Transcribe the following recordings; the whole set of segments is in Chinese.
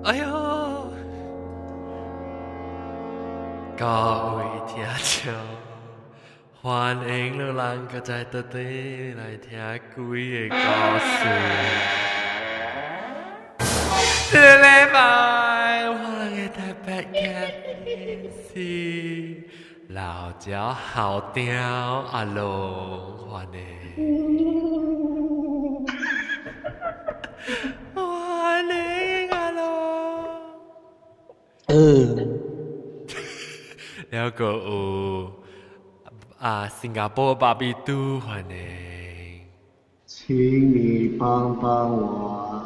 哎呦，各位听众，欢迎你人个在这里来听鬼的故事。这个礼拜我嘅特别嘅是老椒好屌阿龙，欢迎，欢迎阿龙。แล้วก็新加坡芭比嘟欢迎， 请你帮帮我。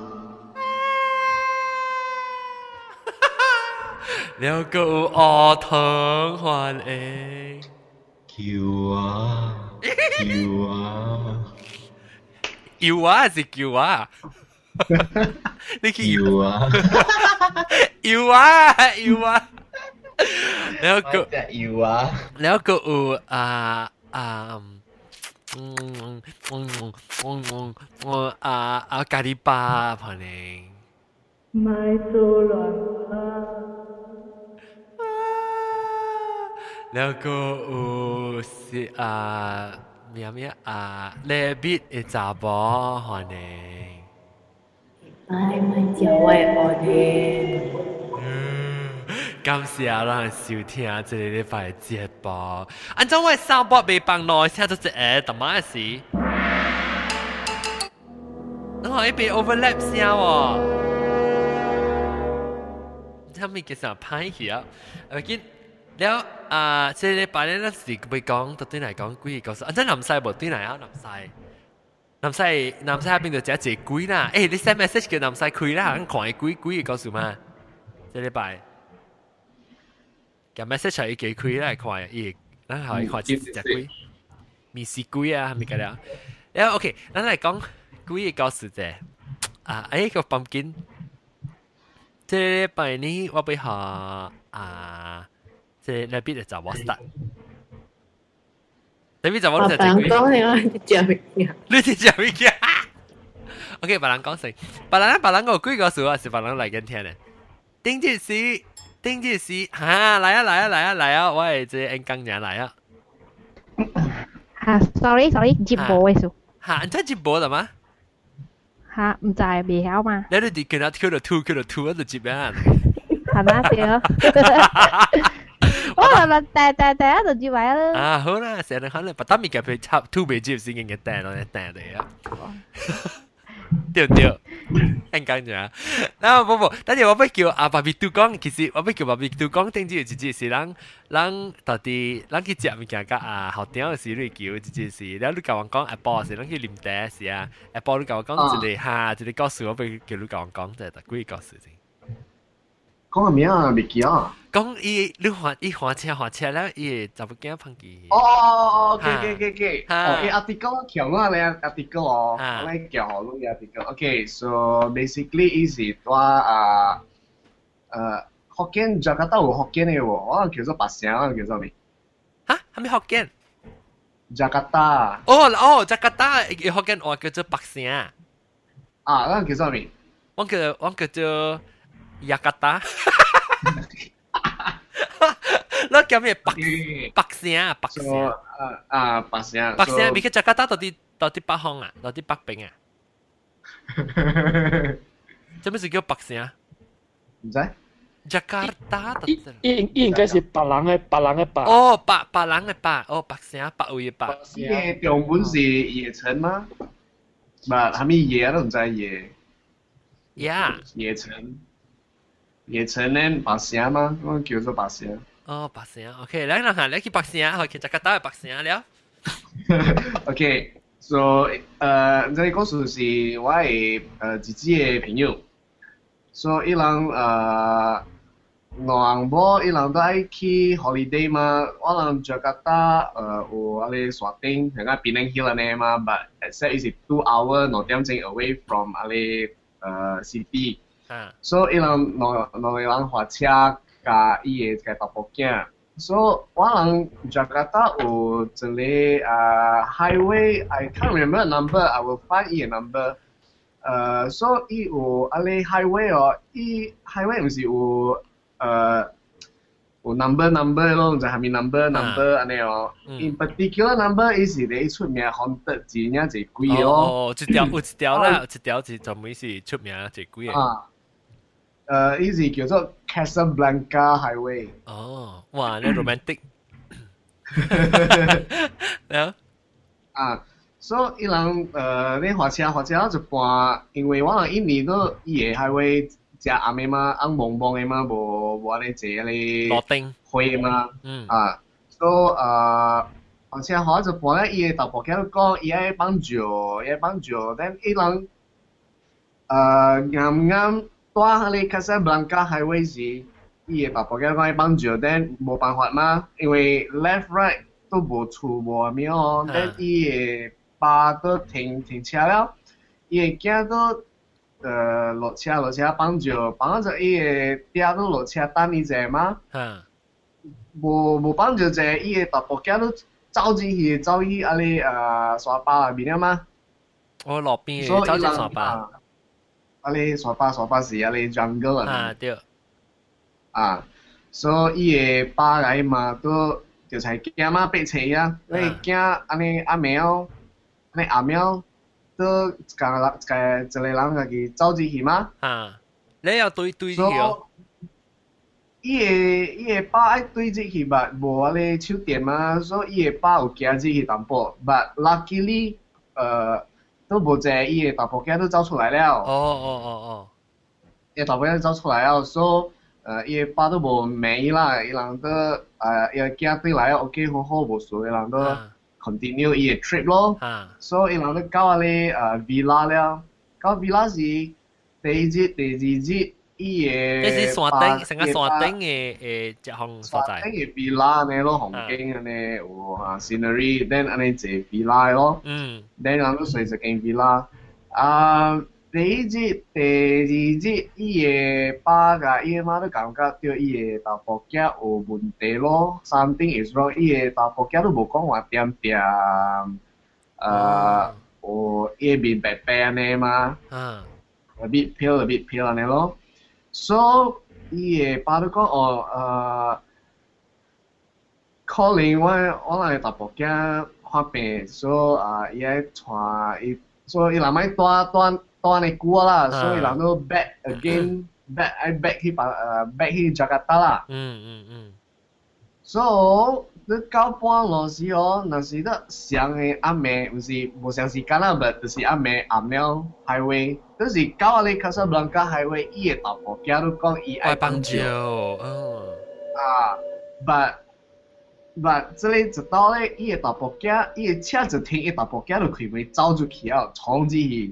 แล้วก็อทอง欢迎， 叫啊叫啊要啊是叫啊，你叫叫啊！ 要啊要啊，แล้วก็要啊！ แล้วก็咖喱巴欢迎。 买做乱啊！ แล้วก็สิ咩เลบิด一查甫欢迎。 买叫我我的。 感謝咱收聽這個禮拜的節目。按照我上播未放耐，聽到這個特麼事？我可以被 overlap 聲喎。他們其實歹去啊。見了這個禮拜咧，咱是會講到對嚟講鬼嘅故事。按照南西無對嚟啊，南西嗰邊就只隻鬼啦。誒，你 send message 叫南西開啦，咱看鬼嘅故事嘛。這禮拜。咁 message 係幾開啦，看伊，咱可以看只鬼，面試鬼啊，係咪咁樣？然後 OK，咱嚟講鬼嘅故事啫。個పం金，即係禮拜呢，我俾下即係那邊就找我 start。那邊就我就只鬼。 講你我只物件。 你只只物件。OK，別人講先，別人個鬼故事啊，是別人嚟緊聽嘅。頂住是。丁志士嚇嚟啊！我係這恩港人嚟啊！ 嚇 ，sorry，接播嘅數嚇，你真接播啦嘛？ 嚇，唔就係未曉嘛？ 你哋啲叫到 Q 就接咩？ 係嘛對啊！我話第一就接埋啦。 啊好啦，成日可能不得面嘅佢插 two 未接先嘅訂嚟啊！對，恩港人。嗱，不，等陣我不叫芭比嘟講，其實我不叫芭比嘟講，頂住直接是咱到底咱去食物件甲後頂嘅時你叫直接是，แล้ว你甲我講 Apple 是咱去啉茶是啊 ，Apple 你甲我講一個故事，我不叫你甲我講就係幾個故事先。 講個名啊，未記啊。 講你換車了，伊就不驚碰佢。 OK。article 橋我咧 article 哦，我咧叫好多 article。OK，so basically 是話福建Jakarta有福建嘅喎，我叫做白城，我叫做咩？ 嚇，係咪福建 ？Jakarta。 Jakarta 福建話叫做白城。 我叫做咩？ 我叫做雅加達。那叫咩？白城。白城。白城，你去雅加達到底北方啊？到底北邊啊？做咩是叫白城？ 唔知。 雅加達。 應該是白人嘅白。 哦，白人嘅白，哦，白城，白位嘅白。 中文是野城嗎？唔係，係咪野都唔知野。野城咧白城嗎？我叫做白城。 哦，白城 ，OK， 你去白城，去雅加達嘅白城了。 OK，so 這個故事是我嘅自己嘅朋友，所以伊人兩某伊人都愛去 holiday 嘛，我人雅加達有阿哩沙丁，係個Penang Hill 呢嘛，but except is 2 hour 2點鐘 away from 阿哩city。所以伊人開車甲伊個個爸母囝，所以我人Jakarta有一個highway，I can't remember the number，I will find it a number。 所以有啊咧 highway 哦，伊 highway 唔是有有 number 咯，就下面 number 安尼哦。In particular number 伊是咧出名 haunted 字呢就幾個哦。 哦，有一條啦，有一條是專門是出名就幾個。 伊是叫做 Casablanca Highway。 哦，哇，你 romantic。 所以伊人你火車一半，因為我人印尼都伊個 highway 食暗的嘛，暗蒙蒙的嘛，無安尼坐咧落丁灰嘛，所以火車一半咧，伊個頭部仔都講伊愛幫助，但伊人啱帶迄個 Casablanca highway 時，伊個頭部仔講愛幫助，但冇辦法嘛，因為 left right 都無厝無咩哦，但伊個巴都停車了，伊個囝都落車幫住伊個爹都落車等伊者嘛，無幫住者，伊個大部囝都走去啊咧沙巴那邊啊嘛， 我落邊走去沙巴， 啊咧沙巴是啊咧 jungle 啊， 對， 所以伊個巴來嘛都就係驚嘛逼車啊，你驚安尼阿苗。你阿苗都一個人家己走進去嘛？ 你要對去哦。 伊個巴愛對進去吧，無啊咧手電嘛，所以伊個巴有行進去淡薄。But luckily，都無濟，伊個大部囝都走出來了。伊個大部囝走出來了，所以伊個巴都無咩啦，伊人都伊個囝對來 OK 好無事，伊人都。continue 伊個 trip 咯，所以伊人都到啊咧villa 了，到 villa 是第一日、第二日伊個。 即是山頂，成個山頂嘅一項所在。 山頂嘅 villa 安尼咯，風景安尼有scenery，then 安尼坐 villa 咯，then 人都睡一間 villa。第一日、第二日，伊個爸甲伊個媽都感覺到伊個大部囝有問題咯。Something is wrong，伊個大部囝都無講話點，有伊個面白白安尼嘛，a bit pale 安尼咯。So 伊個爸都講可能我個大部囝發病，所以伊愛帶伊，所以伊人咪帶你久啦，所以人都 back again，back 去 Jakarta 啦。So 你到半路時哦，若是得上嘅暗暝，唔是無上時間啦，但就是暗暝暗了 highway，就是到啊你 Casablanca highway， 伊個大部囝都講伊愛幫助。but 這裡一到咧，伊個大部囝，伊個車就停，伊大部囝就開門走出去啊，衝進去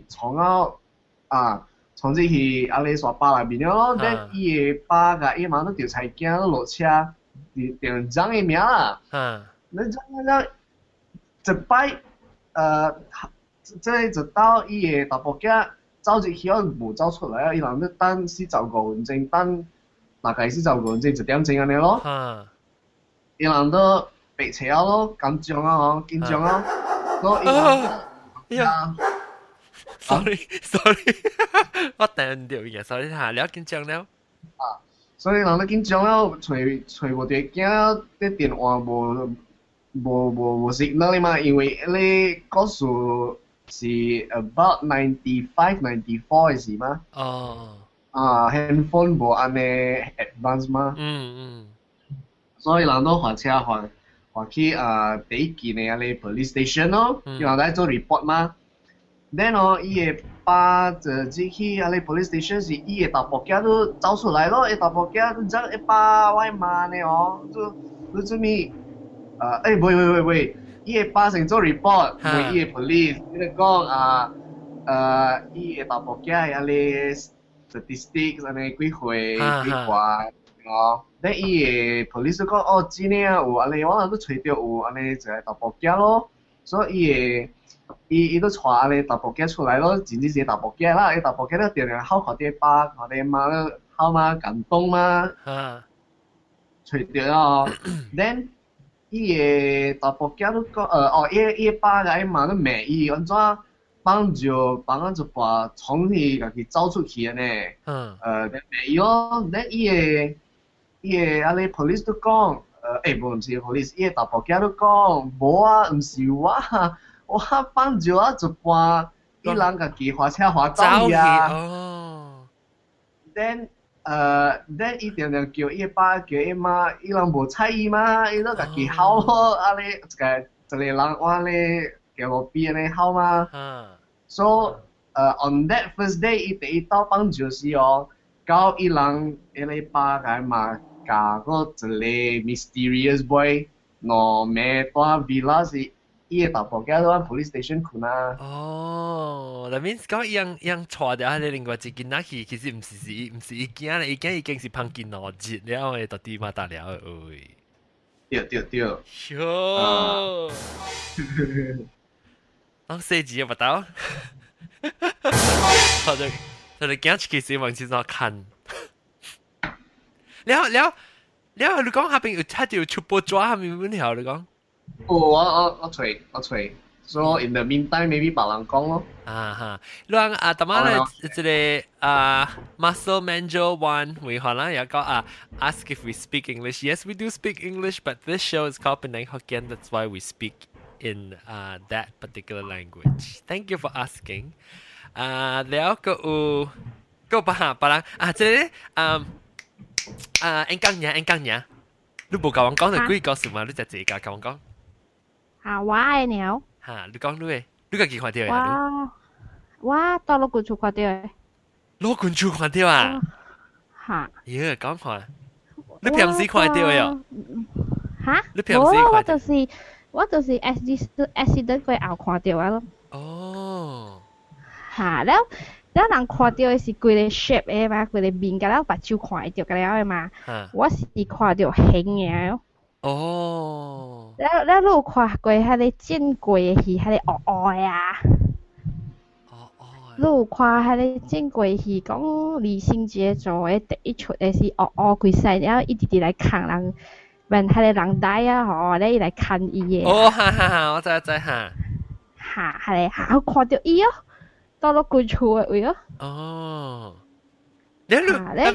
啊咧沙巴那邊咯。但伊個爸甲伊媽都調菜囝都落車，調張個名啦。你一擺這裡一到伊個大部囝走入去，無走出來啊！伊人都等45分鐘，等大概45分鐘1點鐘安尼咯。伊人都白車咯，緊張啊！所以伊人 sorry， 我聽唔到嘢 ，sorry 嚇，你緊張了。 所以人都緊張了，找無着囝，啲電話無 signal 嘛，因為你個數是 about 95、94嘅事嘛。handphone 無安尼 advance 嘛。所以人都換車換去第一間嘅咧 police station 咯，然後嚟做 report 嘛。then 伊個爸就入去咧 police station 時，伊個大部囝都走出來咯，伊大部囝都講一爸我罵你哦，你做咩？喂，伊個爸先做 report， 為伊個 police， 伊就講伊個大部囝咧 statistics 安尼幾歲幾掛哦。但伊個 police 講真誒有安尼，我都吹到有安尼一個大部囝咯，所以伊都帶安尼大部囝出來咯，真正是大部囝啦，伊大部囝都定定好看啲爸，看啲媽都好嘛感動嘛，吹到哦。then 伊個大部囝都講伊個爸甲伊媽都罵伊安怎幫就把從去家己走出去呢。但係喲，伊個阿你 police 都講，唔是 police， 伊個大婆家都講，無啊，唔是我幫就就把伊人家己花車花走去啊。then 伊定定叫伊爸叫伊媽，伊人無睬伊嘛，伊都家己喊咯，阿你一個人話你叫我邊安尼喊嘛。So on that first day，伊第一到幫就是哦，到伊人伊個爸個嘛嫁個一個 mysterious boy，攞咩大 villa 是。伊個大婆家都喺 police station 困啊。 哦，那 means 講樣錯掉喺另外一件那去，其實唔是伊件咧，伊件已經是碰見攞節了，我哋到底嘛打了喂。 對。 喲。當四字不到。我哋驚其實忘記咗看。了，你講下邊有睇到出波抓下面問題，你講。 我吹。So in the meantime, maybe 別人講咯。 讓大媽咧，這個Muscle Manjo One 會可能有個ask if we speak English. Yes, we do speak English, but this show is called Penang Hokkien. That's why we speak in that particular language. Thank you for asking. แล้วก็別人這個engang nhà. 你冇教我講就幾個事嘛？你就自己教我講。 我嘅鳥。 你講你個幾看到呀？ 我到攞罐厝看到嘅。 攞罐厝看到啊？咦，講看。你平時看到嘅？你平時看到？ 我就是 accident 過後看到嘅咯。 哦。 แล้ว人看到嘅是規個 shape 嘅嘛，規個面㗎啦，把手看到㗎了嘅嘛。我是看到形嘅。 哦。 แล้ว你有看過迄個見過嘅戲，迄個惡惡啊？你有看迄個見過戲，講李心潔做嘅第一出嘅是惡惡佢細，然後一直直來看人，問迄個人帶啊，吼，你來看伊嘅。 我知， 我看到伊哦。到咗罐厝嘅位咯。 哦。 你是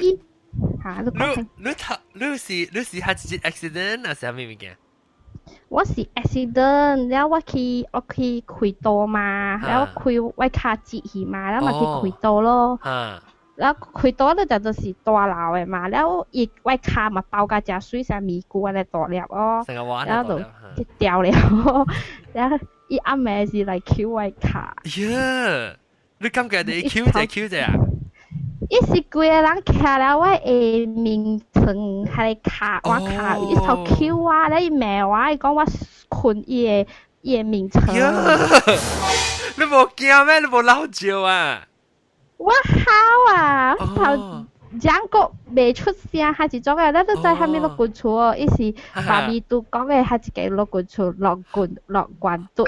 係一 accident 還是係咩物件？ 我是 accident，然後我去開刀嘛，然後開我卡折去嘛，然後咪去開刀咯。然後開刀咧就是大樓嘅嘛，然後我卡咪爆架隻水上咪股咧大粒哦，然後就掉了，然後伊暗暝是嚟撬我卡。 你感覺你Q 者啊？ 伊是規個人徛了我的面床，喺卡我卡，伊頭 Q 啊！你罵我，伊講我困伊個面床。 你無驚咩？你無嬲叫啊？ 我好啊！頭講個未出聲，係一種嘅，你都知係咪落罐厝哦？伊是爸咪都講嘅係一個落罐厝落罐度。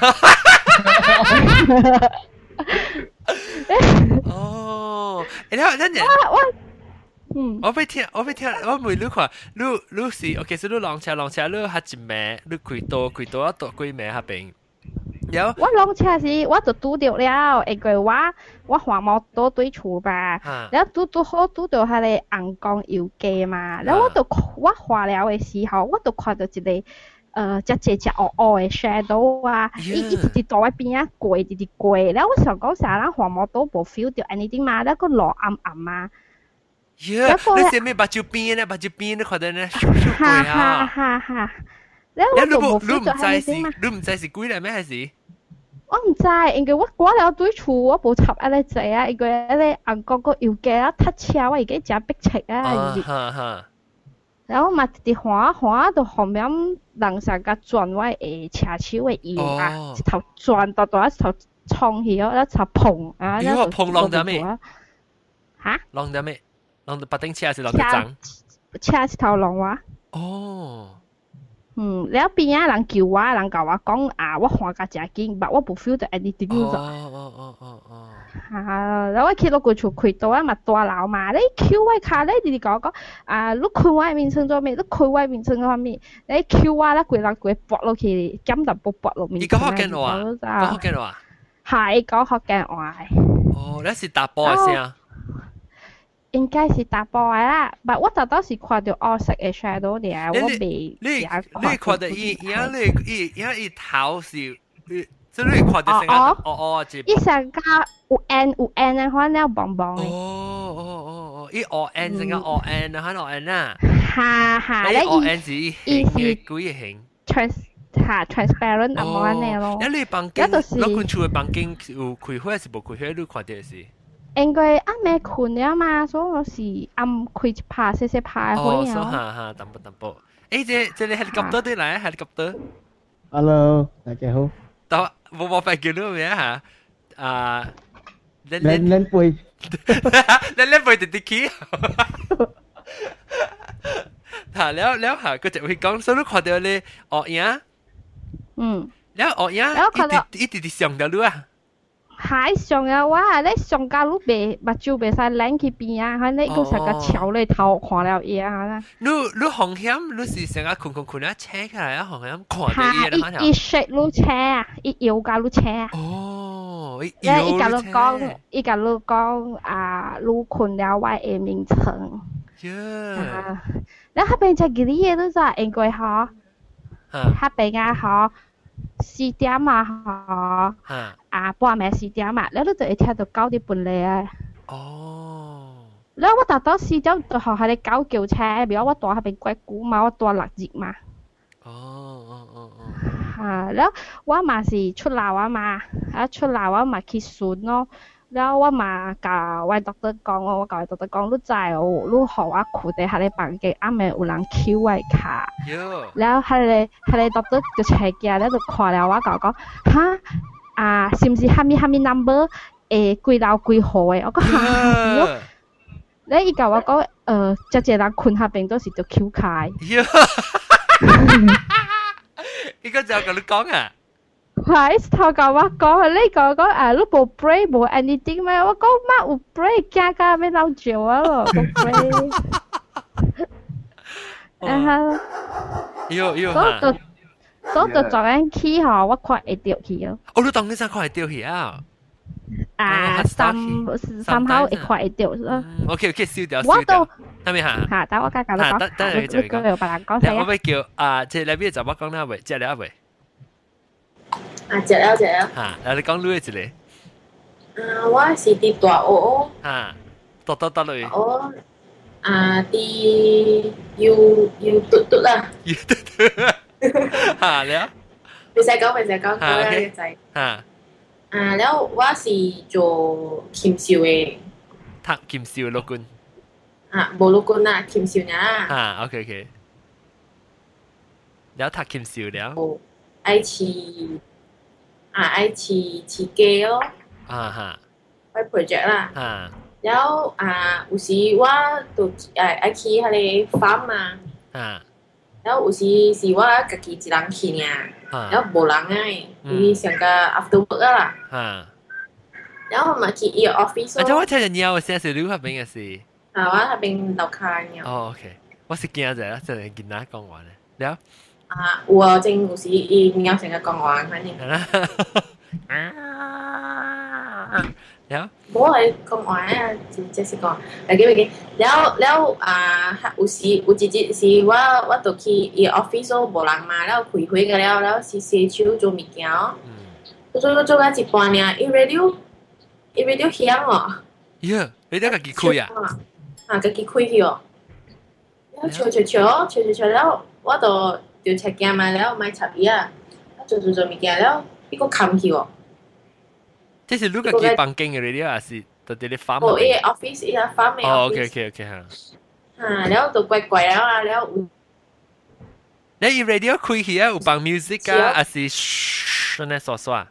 哦，然後我被聽，我問你看，你是 OK， 所以你浪車，你係一暝，你開刀啊，多幾暝下邊。 我浪車時，我就拄到了，因為我換摩托對厝吧，然後拄到迄個紅光油機嘛，然後我換了嘅時候，我就看到一個。只黑黑的 shadow 啊，伊直直在我邊啊過，直直過。然後我想講啥人黃毛都冇 feel 到 anything 嘛，然後個落暗暗啊。 你係咪把手邊咧看到咧？ 哈。然後我就冇 feel 到 anything 嘛。 你唔知是鬼嚟咩？還是？ 我唔知，因為我過了對厝，我冇插嗰個掣啊，因為嗰個紅光個油機啊，太車，我而家真逼切啊。然後嘛，直直滑到後面，人成個轉我嘅車手嘅腰啊，一頭轉到一頭衝去咗，一頭碰啊！ 你話碰浪咗咩？ 嚇？ 浪咗咩？浪到八丁車還是浪到漲？ 車一頭浪啊！ 哦。 然後邊啊人叫我，人教我講啊，我看架真緊，但我冇 feel 到 anything 咗。然後我去到個厝開刀啊，咪大樓嘛，你撬我卡咧，直直講你開我面床做咩？你開我面床做咩？你撬我啦，規人規搏落去，減淡薄搏落面。 你講福建話？ 係講福建話。 哦，你是打波嘅聲。 應該是打波嘅啦，但我就當時看到黑色嘅 shadow 嘅，我未你看到伊頭是，即係你看到成個一伊成個有 N 嘅，可能棒棒嘅。 哦，伊 N 成個 N 啊，喺 N 啊。 係咧， N 是幾個形 ？transparent 咁樣嘅咯。 你房間，你困厝嘅房間有開火是無開火？你看到是？ 應該暗暝困了嘛，所以我是暗開一拍細拍嘅火哦，哈，淡薄。誒，這裡 helicopter 對嚟 helicopter。Hello， 大家好。 到冇發叫你咩嚇？ 練背。 練背直直起。嚇，แล้ว嚇，佢就會講，所以你看到你學影。แล้ว學影，一直上到你啊。 係上啊！哇！你上架都袂目睭袂使擰去邊啊！佢你個成個朝你頭看了嘢啊！ 你紅險，你是成個困啊，扯起來啊，紅險看到嘢啦， 一食你扯啊，一搖架你扯啊！ 哦， 一架你講啊，你困了我嘅名稱。แล้วถ้าเป็นจากกี่嘢都就應該好，ถ้าเป็น啊好。4點啊，半暝4點啊，你都就會聽到9點半嚟啊。 哦。 แล้ว我達到4點就學下你狗叫車，比如我ตัว係เป็น鬼故嘛，我ตัวหลักจิก嘛。แล้วว่ามาสิ出樓啊嘛，出樓啊嘛去選咯。แล้วว่ามากับวัยด็อกเตอร์講，我กับวัยด็อกเตอร์講，你知哦，你學我褲底喺你房間啱啱有人翹位卡，แล้ว喺你ด็อกเตอร์就斜嘅，แล้ว就看了我講嚇是唔是蝦米 number 幾樓幾號嘅？我講嚇，แล้ว伊甲我講即個人困下邊都是就翹開。 伊個就同你講啊？ 係頭甲我講，你講你無 break 無 anything 咩？我講乜有 break，加要撈住我咯，冇 break。然後，所以就昨晚起嗬，我看會掉去咯。 哦，你當你真看會掉去啊？ 三號會看會掉咯。 OK，燒掉。 我都係咪嚇？ 等我家教你講。你講有別人講先啊。 我要叫即係裏邊就我講啦，喂，即係你啊喂。 食了。 嚇，你講你一個。 我是佇大澳。 嚇，到落去。 哦，佇要嘟啦。 要嘟。嚇了。 未使講，講嘅仔。 嚇。 แล้ว我是做禽獸嘅。 讀禽獸陸軍。 冇陸軍啊，禽獸呀。 嚇 ，OK。แล้ว讀禽獸了。 愛飼雞咯。ไป project 啦。แล้ว有時我就愛去迄個 farm 嘛。แล้ว有時是我家己一人去爾，แล้ว無人誒，伊上個 after work 啦。แล้ว嘛去伊個 office 咯。 我聽人鳥嘅聲是你嗰邊嘅事。 我嗰邊樓下鳥。 哦 ，OK， 我是驚者，真係見人講話咧。了。 有啊，正有時伊鳥成個講話，反正。 了。 冇係講話啊，即是講，記。了有時有一日是我就去伊 office 咯，無人嘛，了開會個了是洗手做物件。做到一半呢，伊 radio 響哦。 呀，你家己開啊？ 家己開去哦。了笑了，我就赤鏡嘛，了買插伊啊，做物件了，伊個冚去哦。 這是你家己房間嘅 radio 還是在啲 farm？ 哦，伊 office 伊個 farm 嘅 office。 哦 ，OK 嚇。 了就怪怪了啊，了有。 你 radio 開起啊，有放 music 啊，還是唰呢刷刷？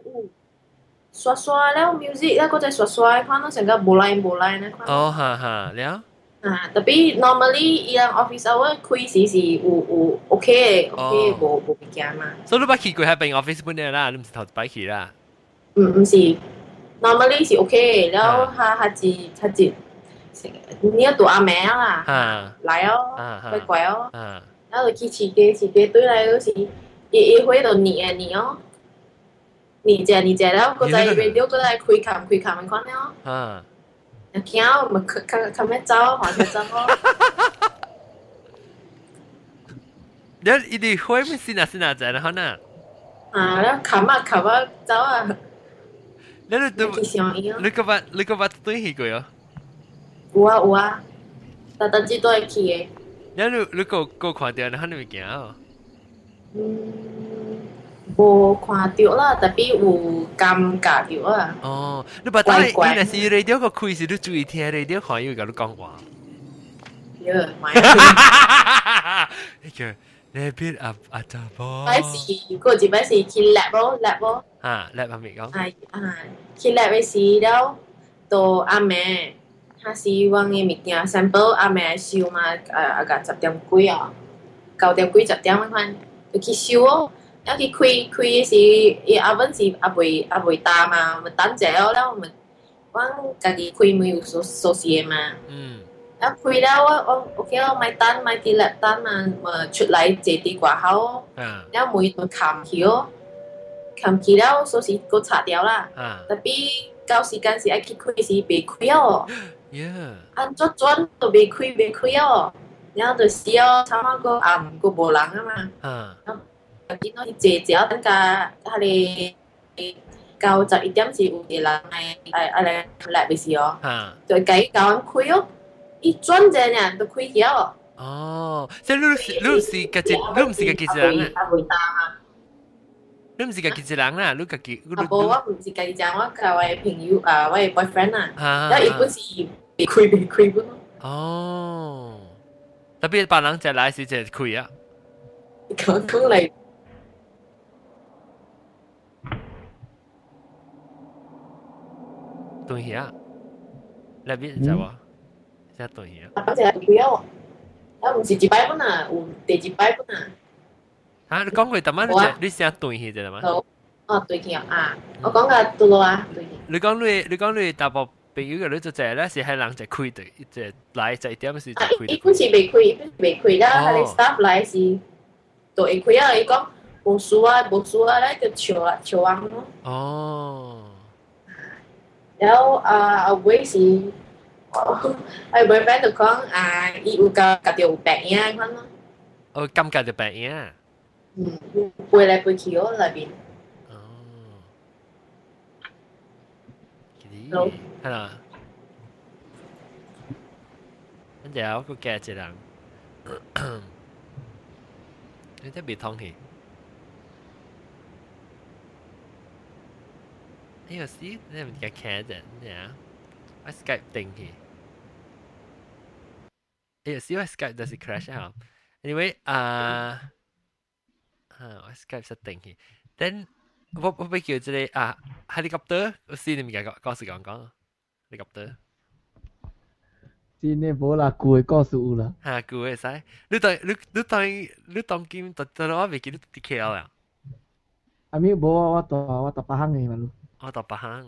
刷了 music，了個再刷，看到成個無來呢。 哦，哈，了。 特別 normally 伊個 office hour 開時是有 OK 無物件嘛。 所以你捌去過喺邊 office 本嚟啦，你唔是頭一擺去啦？ 唔是 ，normally 是 OK，然後他一，你要讀阿名啦，來哦，乖哦，然後就去飼雞對來嗰時，伊會就捏哦， 你這了，個在 radio 個在開看看了。 啊。 又驚咪看咩走，看咩走咯。 你一定會唔是哪在啦呢？ 啊，แล้วขับ走啊。 你個把對起過喲？ 有啊，但只都係去嘅。 你個看到你乜物件啊？ 無看到啦，特別有尷尬到啊。 哦，你把當你若是 radio 個開時，你注意聽 radio 看伊甲你講話。一個你邊阿達波？ 擺時嗰時擺時去 lab 咯。 啊 ，lab 係咪講？ 去 lab 嘅時了，到阿妹，他是往嘅物件 sample 阿妹收嘛，個10點幾啊，9點幾10點嗰款，就去收哦。要去開嘅時，伊阿文是阿未打嘛，咪等者了，咪我家己開咪有熟悉嘅嘛。一開了我 OK 咯，咪等咪啲粒等嘛，咪出嚟借啲掛口，然後每咪冚起咯，冚起了所以個拆掉啦。特別到時間時愛去開時未開哦，按做轉都未開哦，然後就時哦，差唔多暗個無人啊嘛。見到姐姐等下係到11點時有啲人嚟嘅時候，就計搞開哦。一轉隻人都開咗。 哦，即係你唔是個人啊？你唔是個人啊？你個我唔是個人，我係我朋友我係 boyfriend 啊。然後一般是未開嘅咯。 哦，特別別人就來時就開啊。 講嚟。 對呀，那邊就話。真對呀！ 反正係佢啊，唔是一擺本啊，有第二擺本啊。 啊，你講過點啊？你先對起啫嘛？ 哦，對起啊！我講個對咯啊，對起。 你講你大部朋友嘅你就係咧，是係人就開對，就來就點時就開。 一般是未開啦，係你 staff 來是就會開啊！你講無數啊，咧就潮啊咯。 哦。 然後尾是。ai bởi bán được con yêu cả điều bẹn nha con nó cam cả điều bẹn nha quay lại quay chiếu là biển đúng hay là anh chào cô kẻ chị rằng anh thấy bị thông thì ấy là xí nên mình kẻ đấy nha Skype 定起。有時我 Skype 就是 crash 啊。Anyway 我 Skype 實定起。Then 我俾叫這個helicopter，我先你咪講時講helicopter。 先你冇啦，舊嘅故事有啦。 舊嘅使。你當今到我未記得 DKL 啊。 阿咪冇我到北行嘅嘛咯。 我到北行。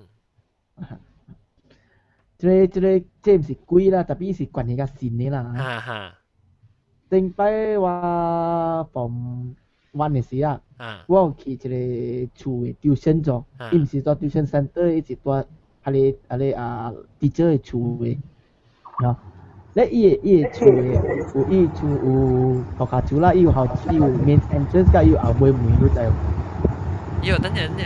這唔是貴啦，特別是關係較新嘅啦。頂擺我from 1嘅時啊，我有去一個厝嘅tuition做，伊唔是做 tuition center，伊是做teacher 嘅厝嘅。咧伊嘅厝嘅伊厝有學校厝啦，伊有校伊有 main entrance，甲伊有後尾門都在。 有等陣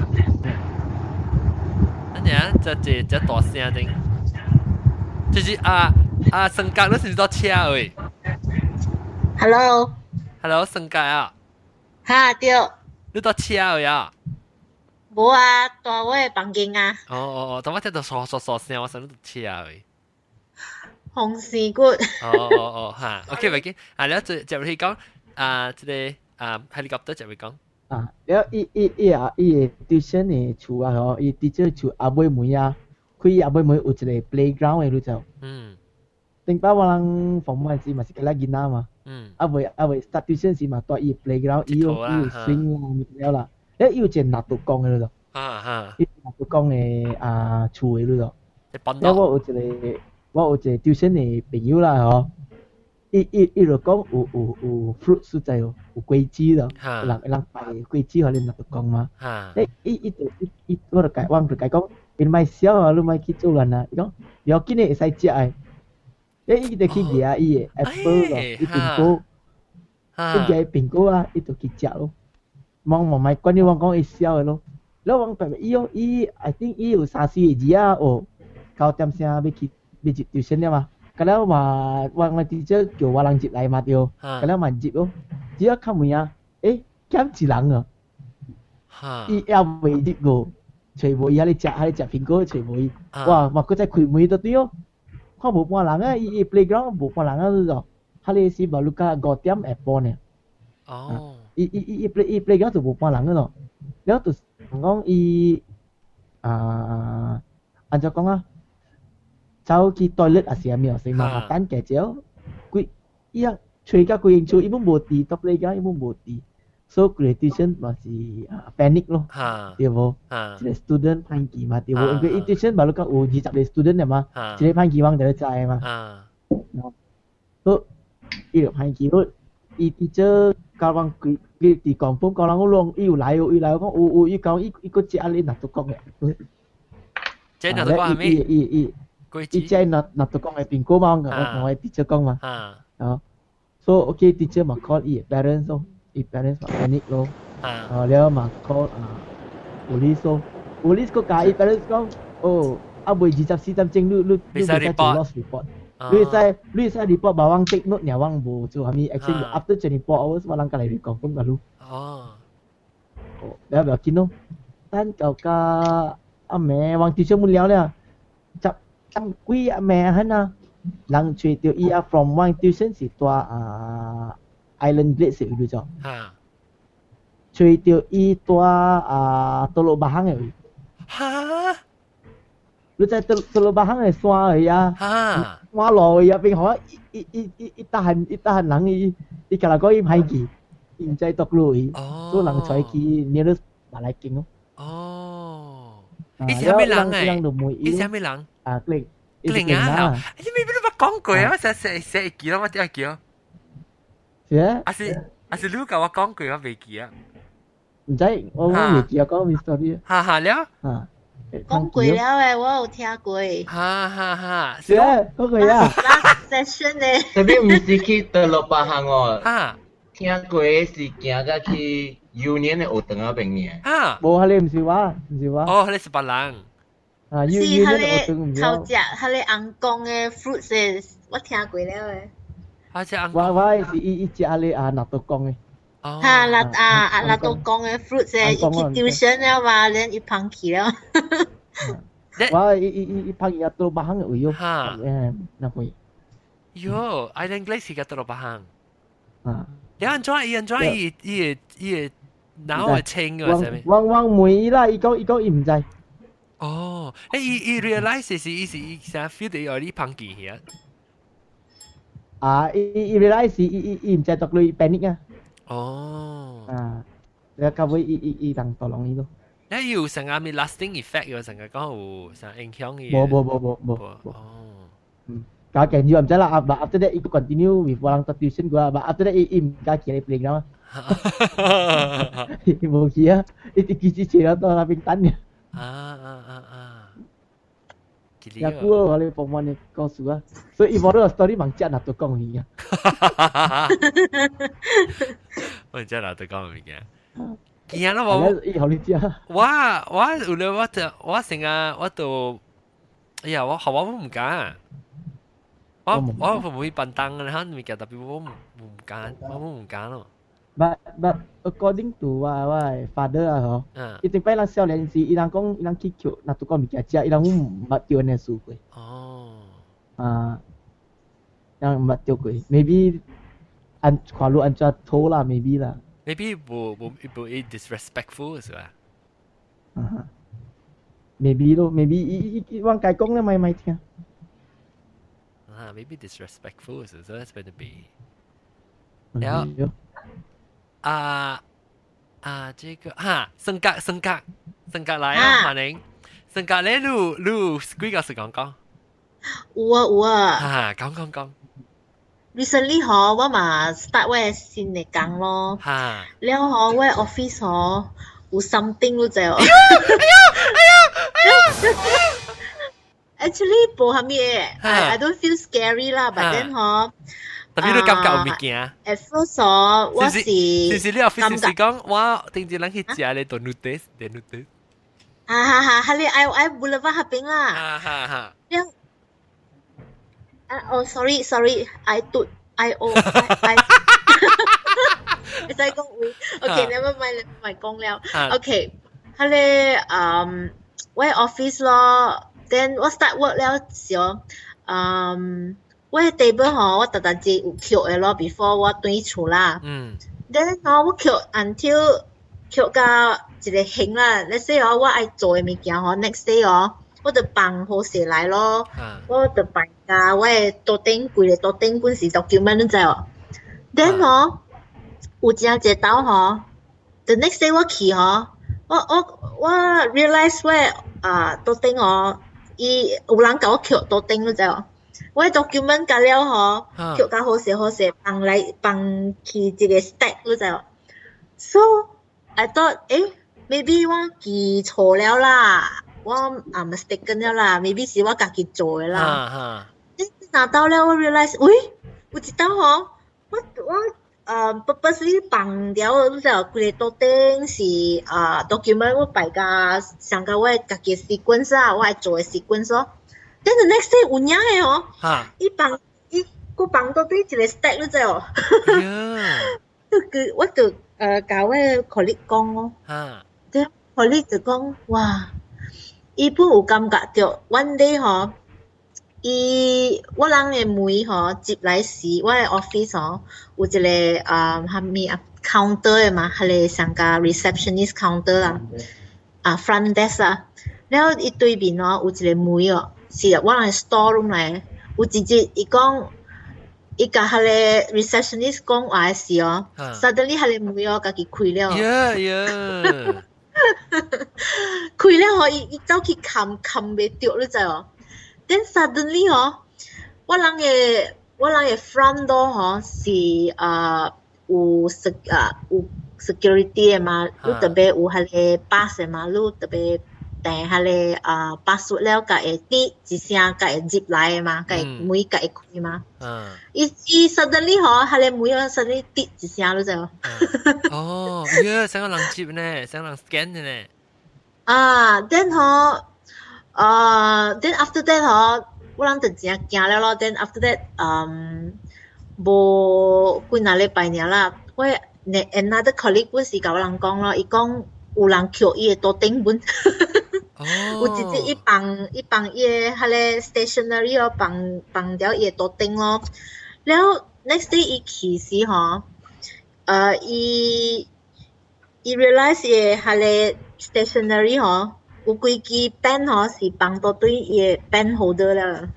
這大聲的，就是升格嗰時多車誒。Hello， 升格啊。 哈對。 你多車誒啊？ 冇啊，在我嘅房間啊。 但我聽到嗦聲，我想你多車誒。 紅事骨。 嚇 ，OK 咪見你一就去講即係helicopter就會講。 แล้วอีดิชั่นเนี่ยชัวร์เหรออีดิชั่นชัวร์อาบวยมุยาคุยอาบวยมุยอุจเลย playground รู้จักถึงป้าวันผมมันสิมาสิกลากินน้ำมาอาบวย start division สิมาตัวอี playground อีอยู่ swing มีแล้วล่ะแล้วอีอยู่เจนนัดตุกองเลยรู้จักอีนัดตุกองเนี่ยชัวร์รู้จักแล้วว่าอุจเลยดิชั่นเนี่ยเป็นอยู่ล่ะเหรออี就讲有 fruit 所在哦，有果子咯，人摆果子互恁那度讲嘛。我就講，我就講，你買少啊，你買去做人啊，伊講，要緊誒會使食誒，伊就去掠伊誒 apple 咯，伊蘋果，伊掠蘋果啊，伊就去食咯。望買關於我講伊少誒咯，แล้ว我แบบ伊 I think 伊有3、4字啊，哦，9點聲要去tuition 了嘛。ก็แล้วว่าทีเจอร์เกี่ยวว่าลังจิตไรมาเดียวก็แล้วมันจิตโอ้จีว่าข้ามึงอ่ะแค่จีหลังอ่ะอีเอาไปจิตกูช่วยบ่อยให้จับพิงโก้ช่วยบ่อยว่ามันก็จะคุยมือตัวเดียวข้าบุกมาหลังอ่ะอี playground บุกมาหลังอ่ะรู้จักฮาเลซีบาลูก้ากอดเตียมแอปเปิลเนี่ยอี playground ตัวบุกมาหลังอ่ะเนาะแล้วตัวงงอีอันจะกงอ่ะ走去 toilet 也是咪成麻煩嘅啫，佢依家除咗佢認錯，伊冇冇地，到嚟講伊冇冇地，所以 graduation 咪是panic 咯，對冇？即係 student 攀機嘛，對冇？因為 graduation 咪講有20個 student 嘅嘛，即係攀機往就知嘛，所以伊就攀機咯，伊 teacher 教人佢啲講風教人好long，伊有來講伊講伊個只阿你拿到講嘅， 即係拿到講係咩？ 伊即拿到講係蘋果嘛，我 teacher 講嘛，so okay teacher 嘛 call 伊 parents 咯，伊 parents 嘛 panic 咯，แล้ว嘛 call police 咯 police 個架伊 parents 講，哦，阿妹24點鐘你俾曬 loss report，你使 report 把我 take note 呢，我冇做係咪 action after 24 hours 我啷個嚟講咁噶咯，แล้วแบบกิน咯，單舊家阿妹我 teacher 冇聊咧，執quý mẹ hắn à, lần chơi tiêu ia from one tuition si tua island blade si udah cho, chơi tiêu i tua Teluk Bahang ấy, lu chơi Teluk Bahang ấy xóa ấy à, xóa lòi à, bên họ tahan lăng i kalau có im hay gì, im chơi tóc lùi, số lần chơi ki nearest Malay King oh, isa may lang eh, isa may lang. Kling啊！你咪邊度乜講句啊？寫記咯，我點記咯？ 係啊是你教我講句，我未記啊。 唔使，我未記啊，講 mystery。 哈了。 講句了誒，我有聽過。 哈。 係啊，講句啊。 Last session 咧。 特別唔是去Teluk Bahang哦。聽過是行到去Union 嘅學堂嗰邊嘅。 冇，係你唔是話。 哦，你是別人。 是佢哋頭只佢哋紅光嘅 fruits 嘅，我聽過了誒。 我是一隻你納豆光嘅。 嚇，納豆光嘅 fruits 誒，一去tuition了嘛，連一旁去了。 我一旁去Teluk Bahang嘅會有。那會。 喲 ，Island Glaze 嘅Teluk Bahang。你enjoy 伊腦係清嘅，係咪？ 我妹啦，伊講伊唔知。 哦，伊 realize 是伊成 feel 到有啲碰見嘅。 伊 realize 伊唔知讀佢 panic 啊。 哦。 แล้วก็會伊當當容易咯。 你有成個咪 lasting effect 嘅，成個講有成影響嘅。 冇。哦。Kaya can you amjala but after that ikut continue with orang tuition gua but after that im ka kira playground. Ibu kia itu kici lah tu orang pintan ni. Ya aku oleh pemain ni kau suka. So ibu tu story mangcat nak tu kau ni. Mangcat nak tu kau ni. Kia lah我。 好理解。 我成日我都，哎呀我唔敢。我唔會笨蛋嘅，你睇特別我唔揀咯。 But according to my father 啊，嗬，一定擺人少年時，伊人講伊人去求，那都講物件食，伊人唔捌叫呢書過。哦。人唔捌叫過 ，maybe 看路安怎拖啦 ，maybe 啦。 Maybe 冇 disrespectful 是吧 ？Maybe 咯 ，maybe 伊往解講咧，咪聽。 Maybe disrespectful, so that's better be. แล้ว這個性格嚟啊，華寧，性格咧，你幾個時講？ 有啊。 講。 recently 我嘛 start 我新的工咯。哈。然後我 office 有 something 咯就。哎呀！Actually 冇乜嘢，I don't feel scary 啦，but then 特別都感覺有物件。 At first 我是你 office 是講我定住人去食咧做 noodles。 哈你I Boulevard 合併啦。哈。sorry I 你再講會 ，OK never mind 講了 ，OK 佢哋我 office 咯。Then 我 start work 了時候，我 table 我特自有扣嘅咯 ，before 我轉厝啦。Then 我扣 until 扣到一個型啦。你說我愛做嘅物件next day 我就放好勢來咯。我就放假我嘅桌頂櫃嘅桌頂本是 document 你知哦。Then 有真一道the next day 我去我 realize 我桌頂有人甲我扣桌頂你知哦。我 document 甲了扣甲好勢放去一個 stack 你知哦。So I thought maybe 我記錯了啦，我mistaken 了啦 ，maybe 是我家己做嘅啦。拿到了我 realize， 喂，有一道我purposely 放掉你知哦，規個桌頂是document 我擺甲上甲我家己 sequence 我愛做嘅 sequence。Then the next day 有影嘅伊放到對一個 stack 你知哦。我就甲我 colleague 講咯。Then colleague 就講哇，伊本有感覺到 one day 我人嘅門接來時，我嘅 office 有一個蝦米counter 嘅嘛，係個上甲 receptionist counter 啦，front desk 啦。然後伊對面有一個門是我人嘅 store room 嚟，有一日伊講。伊甲迄個 receptionist 講話時suddenly 迄個門家己開了。開了伊走去冚袂着，你知哦。Then suddenly 我人嘅 front door 是有 security 嘅嘛，你特別有迄個 pass 嘅嘛，你特別訂迄個password 了，甲會滴一聲，甲會入來嘅嘛，甲會門甲會開嘛。伊 suddenly 迄個門suddenly 滴一聲，你知無？ 想個人接呢，想個人 scan 嘅呢。 then then after that 我人就真驚了咯。then after that 無幾若禮拜爾啦，我 another colleague 本是甲我人講咯，伊講有人扣伊嘅桌頂本。有一日伊放伊嘅迄個 stationery 放掉伊嘅桌頂咯。然後 next day 伊去時伊 realize 伊嘅迄個 stationery 有幾支 pen 是放到對伊嘅 pen holder 啦。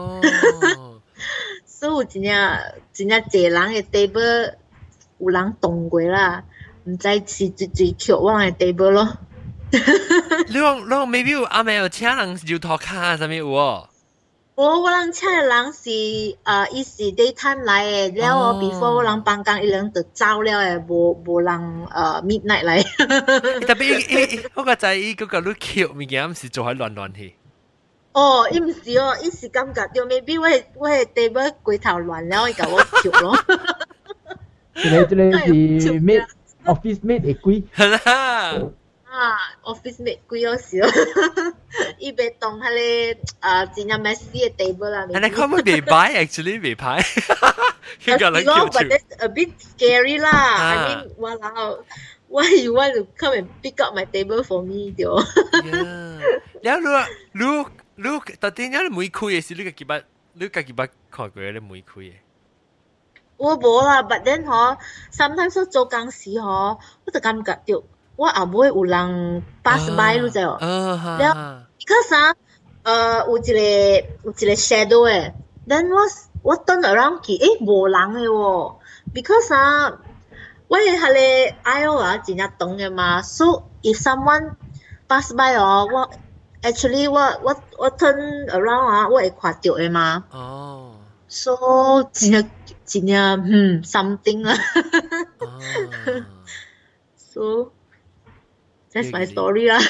所以有真正濟人嘅 table 有人動過啦，唔知是最扣我人嘅 table 咯。 你講 maybe 有阿妹有請人搖頭卡啥物有哦？ 我人請嘅人是伊是 daytime 來嘅，然後before 我人放工伊人就走了嘅，無人midnight 來。 特別我個知伊嗰個你扣物件毋是做喺亂去。 伊毋是伊是感覺到 maybe 我係 table 規頭亂了，伊甲我扣咯。 這個是 mate office mate 會貴。 係啦。 office mate 貴少，伊袂當迄個真正 messy 嘅 table 啦。 你可唔可以未歹 actually 未歹？ 佢個人叫住。But that's a bit scary 啦。I mean， why you want to come and pick up my table for me 條？ 然後你特定你每開嘅時，你家己捌看過你每開嘅？ 我無啦 ，but then sometimes 我做工時我就感覺到。我後尾有人 pass by 你知無？然後 because 有一個 shadow 誒 ，then 我 turn around 去，無人誒喎 ，because 我嘅迄個 aisle 真正長嘅嘛 ，so if someone pass by 我 actually 我 turn around 我會看到嘅嘛。 So 真something 啊。So that's my story 啦。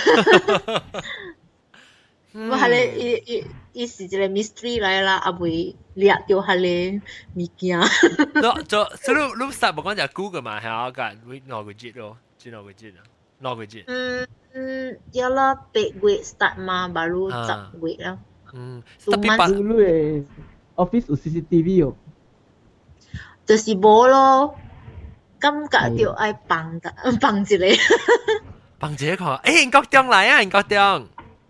我係咧，伊是一個 mystery 來啦，阿未掠到係咧物件。 所以你實冇講就 Google 嘛，係啊，個哪個節咯？知哪個節啊？哪個節？ 有啦，8月 start 嘛，baru 10月啦。 tapi dulu office 有 CCTV 哦。 就是冇咯，感覺就愛放一個。 放一個看，英國中來啊，英國中。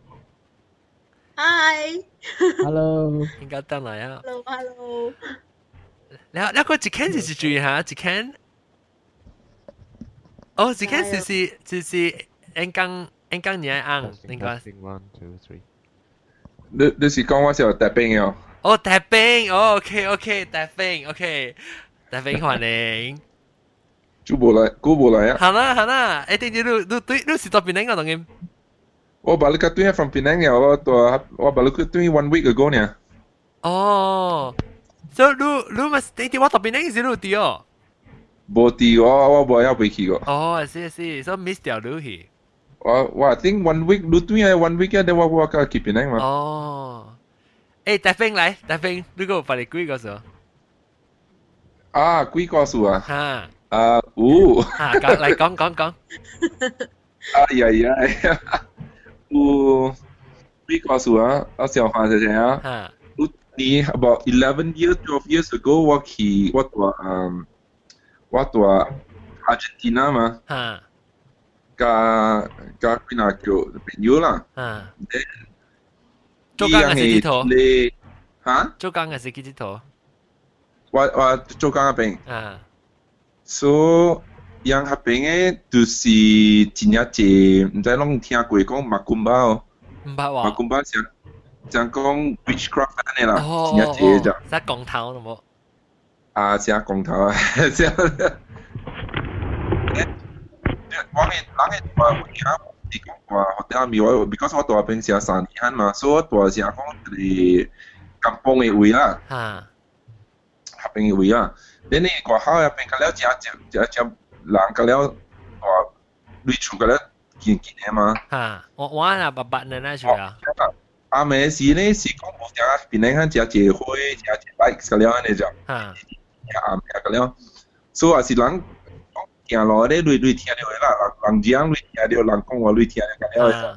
Hi。Hello。 英國中來啊。 Hello。 แล้วก็จิเคน是注意下จิเคน哦จิเคน是英港你愛按應該。 1 2 3。你是講我是有特兵嘅？ 哦，特兵，哦 ，OK， 特兵 ，OK， 特兵歡迎。 估冇來啊？ 係啦，一定要你是到檳城嘅當然。 我balik ke tu from Penang ya,我balik ke tu 1 week ago nya. Oh, so lu mesti di waktu Penang is lu dia. Boti我冇要回去個。 哦，是，so miss 掉lu hi。 我 I think 1 week lu tu 1 week 呀，我去Penang 嘛。 哦，大兵嚟，大兵，你個發嚟幾個數？ 啊，幾個數啊？ 嚇。 嚟講。 哎呀。有幾個數啊？我想話一下啊。你 about 11 years, 12 years ago， 我到阿根廷嘛。加幾那叫朋友啦。 做工嘅是幾多？ 嚇？ 做工嘅是幾多？ 我做工嘅病。So yang hapenge tu si Cina je, mungkin long tiang kue kong makumba oh. Makumba siang kong witchcraft ni lah. Cina je je. Sa gong tao no mo. Siang gong tao. Siang. Wangi di kong hotel mi because 我住邊時3年嘛，所以我住時講喺kampung 嘅位啦。邊嘅位啦。你過後入邊個了只人個了對處個了見嘅嘛。 我那白人那處啊。 阿妹是呢是講冇只邊呢只只會只 bike 個了呢就。阿妹個了，所以是人行路咧對聽到啦，人講對聽到，人講話對聽到個了。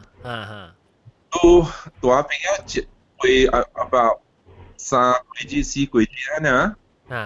都阿邊個會about 3幾4幾呢？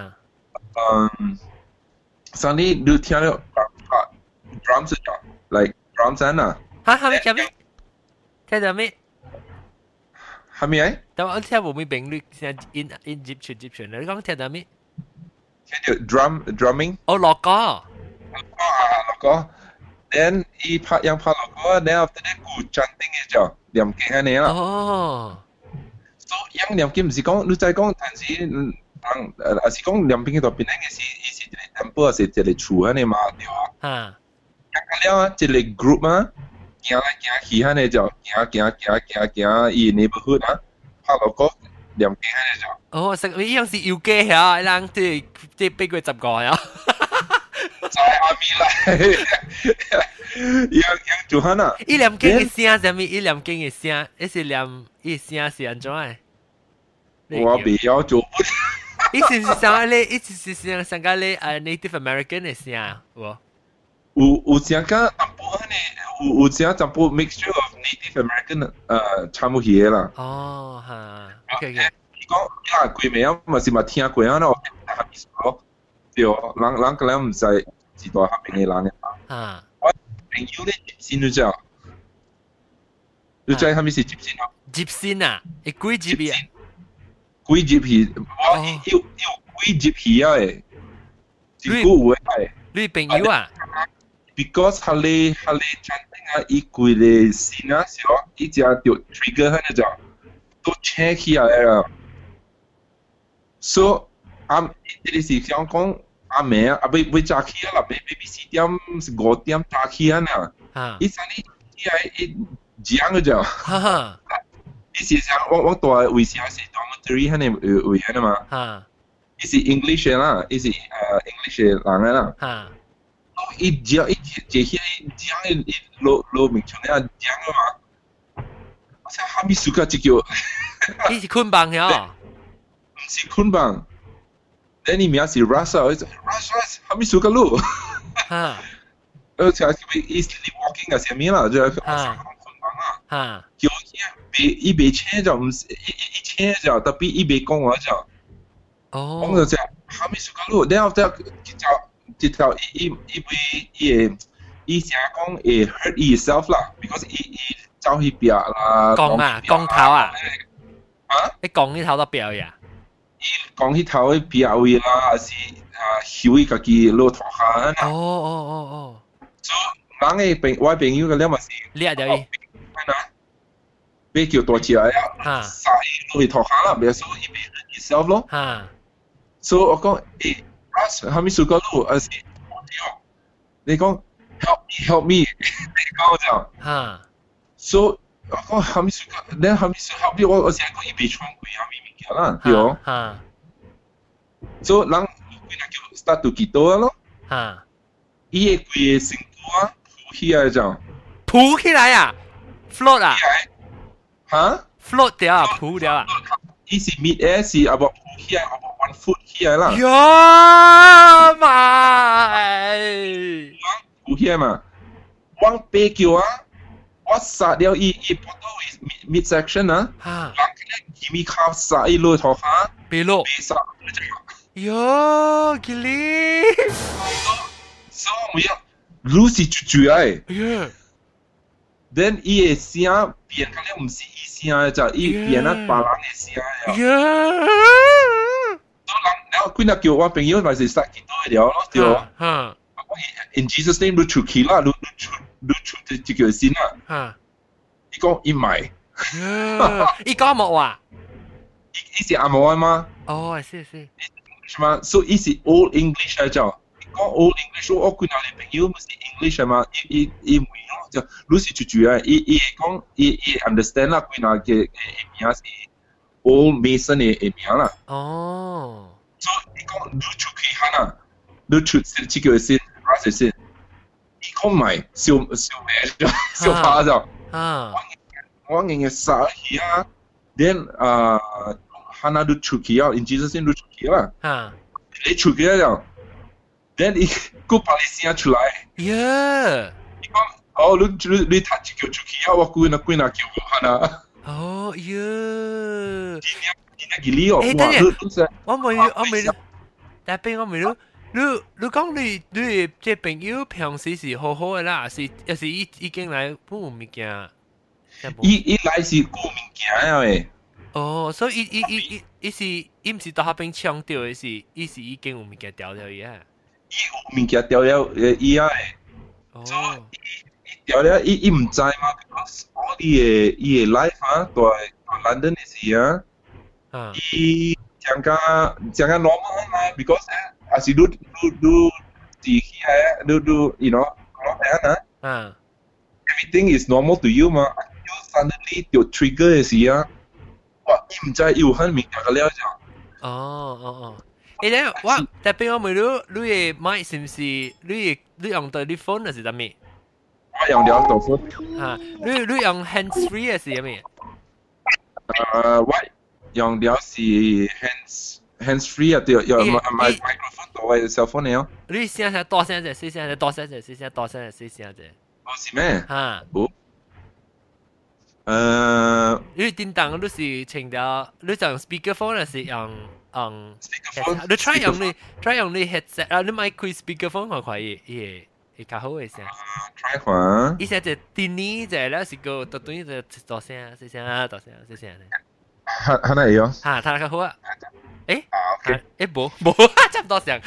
上你都聽到drums 咗 ，like drums 啊？ 係咪？聽到咩？ 係咪啊？ 但我聽冇咩評論，先 in Egyptian， 你講聽到咩？ 聽到 drumming。 哦，樂歌。 樂歌。Then 伊拍樂歌 ，then after that 佢 chanting 嘅就念經係你啦。 哦。 So 樣念經唔是講，你再講，但是是講念經嗰度邊咧嘅是一個 temple 是一個厝係你嘛對啊？咁了一個 group 嘛，行來行去係你就行，伊 neighborhood 啊，拍樂歌念經係你就。 哦，食呢樣是要機呀，人即俾佢10個呀。 在阿咪嚟，樣做下呐。 伊念經嘅聲係咪？伊念經嘅聲，一是念伊聲是安怎嘅？ 我未曉做。 伊是上咧，伊是上個咧Native American 嘅聲啊， 有上個淡薄呢，有上淡薄 mixture of Native American 差唔多嘢啦。 哦，嚇 ，OK。 你講幾名啊？咪是咪聽過啊？咯，對，人個人唔使知道下邊嘅人嘅。我朋友咧接線咗之後，你知係咪是接線啊？ 接線啊？係幾接啊？ 幾接皮？我要幾接皮啊？誒，幾個位係？ 你朋友啊 ？Because 佢哋chanting啊，伊幾個線啊，時候伊只條 trigger 喺度就都 check 起來啦。So 你是想講阿妹啊？未早起啊啦，4點5點早起啊呢？伊上你伊係講嘅就。伊是想我大為啥是當 elementary 迄个位啊嘛。 哈。 伊是 English 啦，伊是English 人个啦。 哈。 伊讲伊讲伊罗明春啊讲嘛。我想哈咪苏卡只叫。 伊是捆绑呀？ 唔是捆绑。等你名是 Russ， 哈咪苏卡路。 哈。 像伊 sleepwalking 啊，什么啦，就捆绑啊。 哈。 叫伊袂请就唔是伊请就，特别伊袂讲话就。 哦。 講就只哈咪蘇卡路，然後一條伊成講會 hurt yourself 啦 ，because 伊走去邊啦。 講頭啊？啊？你講呢頭都邊呀？ 伊講呢頭去邊位啦，還是曉伊家己落頭下。 哦。 所以人嘅我朋友嘅了嘛是。 你啊條伊？ 俾叫大隻啊！殺伊落去頭下啦，咪所以伊會 hurt yourself 咯。 哈。 所以我講，Russ， 哈咪蘇卡路，你講 help me， 你講就， 哈， 所以我講哈咪蘇卡，你哈咪蘇 help me， 我成日講伊被穿過哈咪物件啦，對哦， 哈， 所以人佢那叫 start to 幾多咯， 哈， 伊個規個身軀啊，浮起來就， 浮起來啊 ，float 啊， 哈 ，float 掉啊，浮掉啊， 伊是 mid air 是啊，浮起來。1 foot 起來啦！ 呀媽！ 有起來嘛？往背橋啊！我殺了伊波到 mid section 啊！ 哈！ 佢咪靠殺伊落頭下， 背落， 背殺。 喲，吉利！ 所以我路是住嚟。 喲 ，then 伊嘅聲變，佢咧唔是伊聲就伊變啊，別人嘅聲啊。 喲！ 然後佢那叫我朋友咪是殺幾多條咯，對哦。In Jesus name， 你出去啦，你出這條線啦。伊講伊買。 伊講冇話。 伊是阿毛啊嘛。 哦，係。 係嘛？所以伊是 Old English 嚟就。講 Old English， 我佢那裡朋友咪是 English 嘛，伊唔會咯，就你是住啊，伊講伊 understand 啦，佢那嘅名是 Old Mason 嘅名啦。 哦。 所以你講你出去行啊，你出這個先，哪些先？你講買小咩就小花就，我硬嘅殺去啊， then 行啊你出去啊 ，in Jesus name 你出去啦，你出去了 ，then 你個把你聲出來，你講哦你睇這個出去啊，我歸那叫我行啊， 哦喲。我未，但係我未，你講你這朋友平時是好好嘅啦，也是已經來搬物件。 伊來是顧物件嘅。 哦，所以伊唔是到下邊搶掉嘅是，伊是已經有物件掉了嘅。 伊有物件掉了伊啊嘅。哦。伊掉了，伊唔知嘛？我伊嘅 life 啊，在 London 嘅時啊。伊講個 normal 嘛 ，because as you do 自己係do you know 啊 ，everything is normal to you 嘛 ，you suddenly 有 trigger 嘅時啊，哇，伊唔知有很明顯嘅了就。 哦。誒咧，我特別我問你嘅麥是唔是你用到啲 phone 係點咩？ 我用了到 phone。 啊，你用 hands free 係點咩？ 我。用了是 hands free 啊，對，用 microphone 到位 cell phone 嚟哦。 你聲係大聲啫，細聲啫，大聲啫，細聲，大聲啫，細聲啫。 哦，是咩？ 嚇。你電動你是請到，你就用 speakerphone 還是用 speakerphone？ 你 try 用你 headset 啊，你買開 speakerphone 看看會較好嘅聲。 try 看。 伊聲就電呢就咧是個特短就大聲，細聲啊，大聲，細聲咧。 係咪有？ 睇下好啊！冇，差唔多上。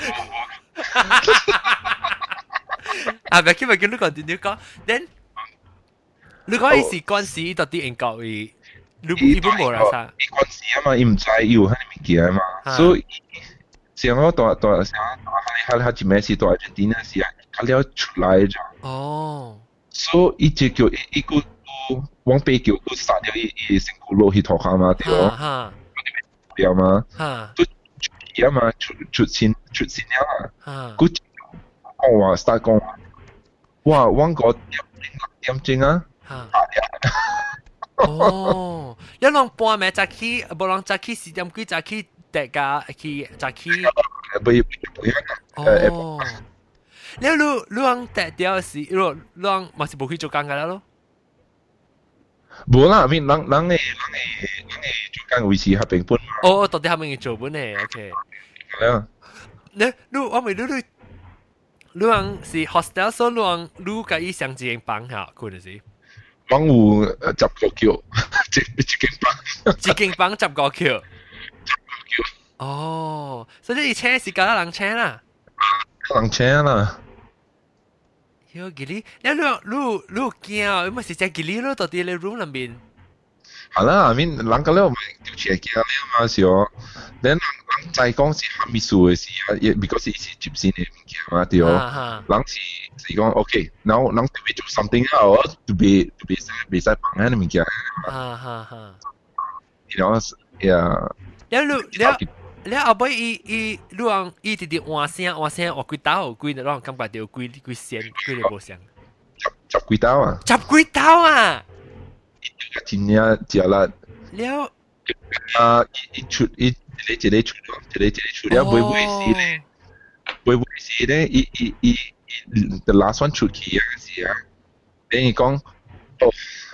唔係，咪叫你講點講 ？Then 你講伊是關係到啲英國嘅，你本冇啦啥？ 伊關係啊嘛，伊唔知有喺物件嘛，所以像我大佢一咩事大一點嘅事啊，佢了出來咗。哦。所以伊就叫伊個。往背叫佢殺掉伊身軀落去頭下嘛，對咯。 了嘛，都出嘛，出錢了啊，佢講話 start 講話，哇，揾個點鐘啊， 哦，一浪半暝早起，無浪早起4點幾早起，大家去早起，哦，你浪特掉是，浪嘛是無去做工噶啦咯。 無啦，人做工維持合併本嘛。 哦，到底係咪做本呢 ？OK。 係啊。 我咪你是 hostel， 所以你個意想一間房下，佢就是。 房有10個橋，一間房 10個橋。哦，所以你車是搞人車啦。 人車啦。 有吉利，你驚啊？唔係是只吉利咯，到底你 room 裏面。 係啦，I mean 人個咧咪條車驚了嘛是哦。then 人再講是哈密數嘅事啊，because 伊是接線嘅物件嘛對哦。人是講 OK，now 人特別做 something else，特別使幫人嘅物件。You know， yeah。 你後尾伊直直換聲，換幾刀，幾讓感覺到幾線，幾個無聲。 10幾刀啊 ！10幾刀啊！ 真呀，食啦。 了。 一出了，會死咧，the last one 出去啊是啊，等於講，oh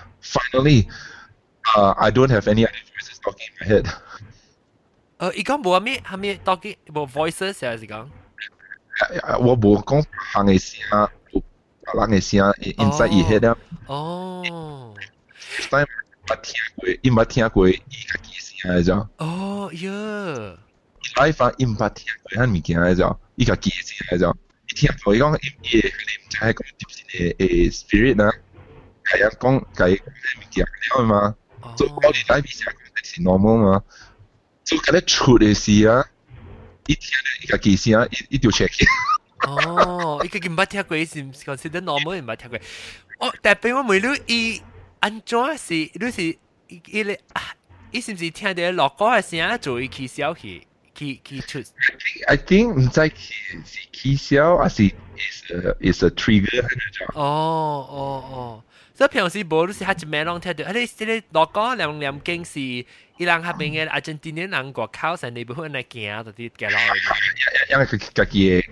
finally，I don't have any other voices talking in my head。 伊講無係咪 talking 無 voices 係是講？ 我無講行嘅聲，人嘅聲 inside 伊 head 啊。 哦。 但伊冇聽過伊家己嘅聲嚟咗。 哦呀。 live 伊冇聽過迄物件嚟咗，伊家己嘅聲嚟咗。伊聽過伊講伊唔知係講接線嘅 spirit 啊，係啊講佢物件了嘛。所以我哋 live 聲講係 normal 嘛。所以佢咧出嘅事啊，伊聽到伊家己聲，伊就 check。 哦，伊家己唔捌聽過，伊是 consider normal 唔捌聽過。哦，但係我問你，伊安怎是？你是伊是唔是聽到落歌嘅聲，做伊起笑去出 ？I think 唔知是起笑，還是 is a trigger 喺度。 哦，所以平時無你是喺一面攏聽到，你落歌兩經是伊人下邊嘅阿根廷人外口上你不會嚟行，就啲嘅咯。 因為佢家己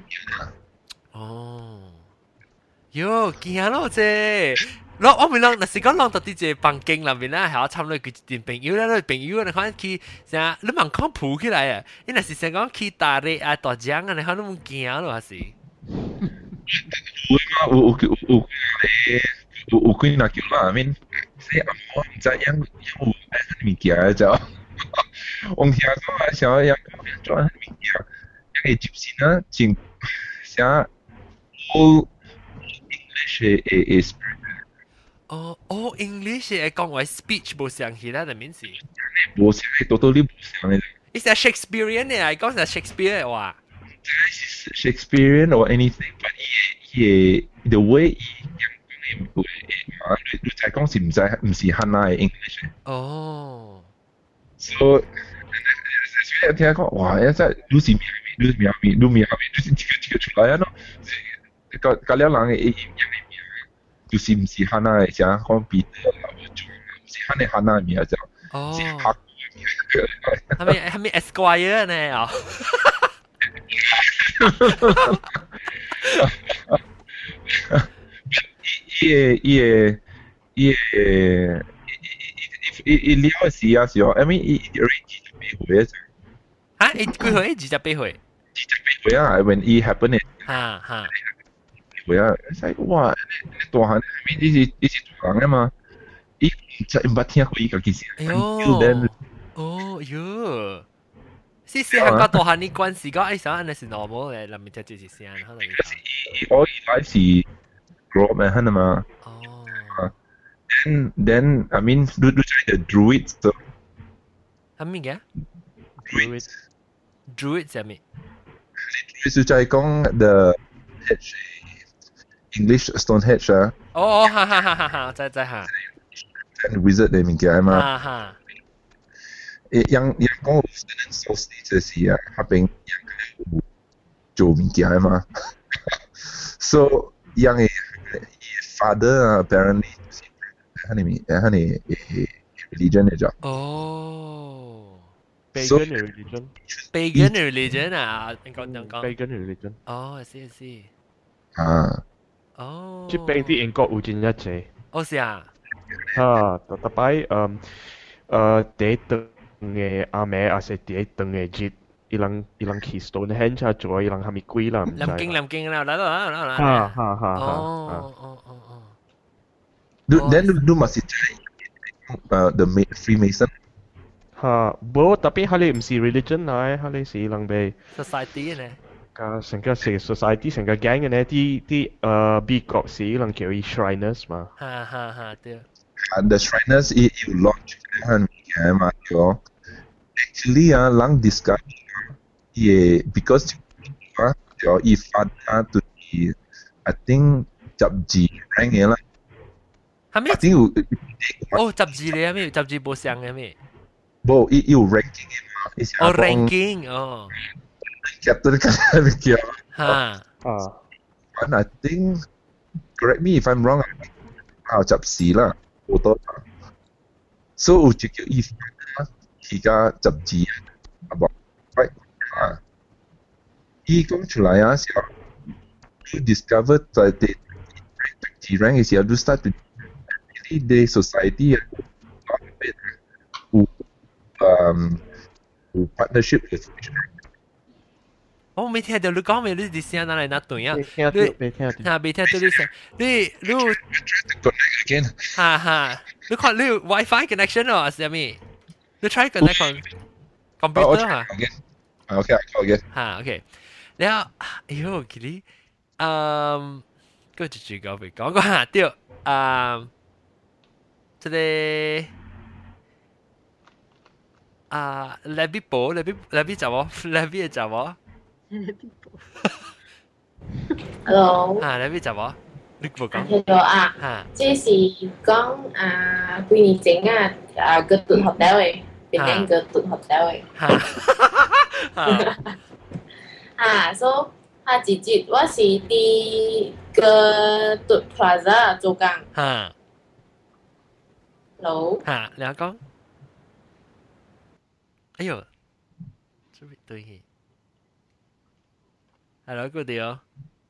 哦，喲，驚咯啫！我咪諗，若是講諗到啲隻房間裏面咧，係我參與佢啲朋友咧，朋友你看佢成你問講鋪起來啊，你若是成講去大日啊大江啊，你看你唔驚咯還是？有幾那叫啦，I mean，即係我唔知有物件就，我聽講啊，想有做物件，因為接線啊，正寫 all English is。 哦 ，English 係講話 speech 冇上去啦，係咪先？ 冇上，多啲冇上嘅。 Is that Shakespearean 嘅？講係 Shakespeare 嘅話。 Shakespearean or anything, but the way 你再講是唔是漢語 English 哦。So 聽講哇，一真你是咩？就是這個出來啊咯。嗰兩人嘅就是唔是漢語嘅，像講彼得啊，唔是漢語名就，是客係咪 Esquire 呢？啊？伊了時啊時候 ，I mean 伊28歲啊，伊幾歲？28歲。28歲啊 ，when it happened 哈。會啊，係哇，大漢 ，I mean 伊是大人啊嘛，伊唔捌聽過伊個件事。哎呦，哦喲。是香港大漢啲關係講，想安尼是 normal 嘅，諗住就是聲，可能。我以來是 grow up 嘅，係嘛？哦。Then I mean，你知 the druids 就係咩嘅 ？druids 係咩？就是在講 the English Stonehenge 啊。哦，哈，知嚇。wizard 嘅物件嘛。哈。 yang講 student society 就是啊，下邊有做物件的嘛。So yang father apparently 係religion 嚟咗。 哦。Pagan religion。Pagan religion 啊，你講。Pagan religion。哦，I see。 啊。 哦。 即係啲英國有真一隻。 哦，是啊。 特擺第一頓嘅阿妹，還是第一頓嘅節，伊人去 Stonehenge 做，伊人係咪貴啦？ 臨經啦，嚟。哦。 你masih cari the Freemason？ 冇，tapi 佢哋唔是 religion 嚟，佢哋是人哋 society 咧。 成個係 society 成個 gang 嘅咧，啲美國是人叫伊 Shriners 嘛。 對。 The Shriners 要 launch 係咩嘛？叫 actually 啊，人 discover 嘢 because 叫伊發啊，對 I think 雜誌 rank 嘅啦。 係咩？哦，雜誌嚟啊咩？雜誌冇上嘅咩？ 冇，要 ranking 嘅嘛。 哦 ，ranking 哦。 Chapter kan mikir. And I think, correct me if I'm wrong. Chap C lah, foto. So uji ke if kita chap G about right. He come 出來啊，時候 you discover that the G rank is you start to really the society who partnership with. 我未聽到你講咩？你啲聲哪嚟哪對啊？ 未聽到你聲。你你看你 WiFi connection 啊？係咪？你 try connect on computer 啊 ？OK， OK。 OK。然後，哎呦，佢哋嗰就講俾講下對即係Levi 寶 Levi 就我 Levi 就我。 Hello。 Levi 就我，你冇講。 Hello 啊。即是講幾年前個tudhotel 嘅，變成個tudhotel 嘅。所以直接我是喺個tudplaza 做工。Hello。 你講。哎呦，這邊對嘅。Hello， good deal。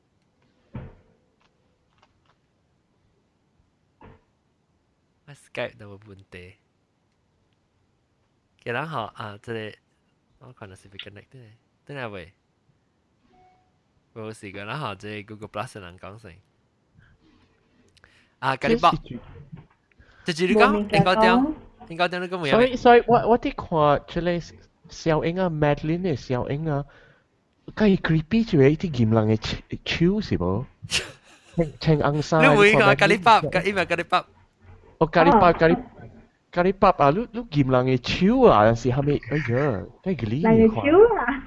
我 Skype 都有問題。嘅人好啊，這裡我看到是被 connect 的，等下喂。冇事嘅人好，這 Google Plus 人講聲。咖喱包。就係你講，應該點你講咩？ 所以我啲看出嚟小英啊 ，Madeline 嘅小英啊。佢 creepy 住你啲劍人嘅超是冇？青硬晒。 你會講咖喱包，因為咖喱包。 哦，咖喱包啊！你劍人嘅超啊，有時係咪？哎呀，真係呢人嘅超啊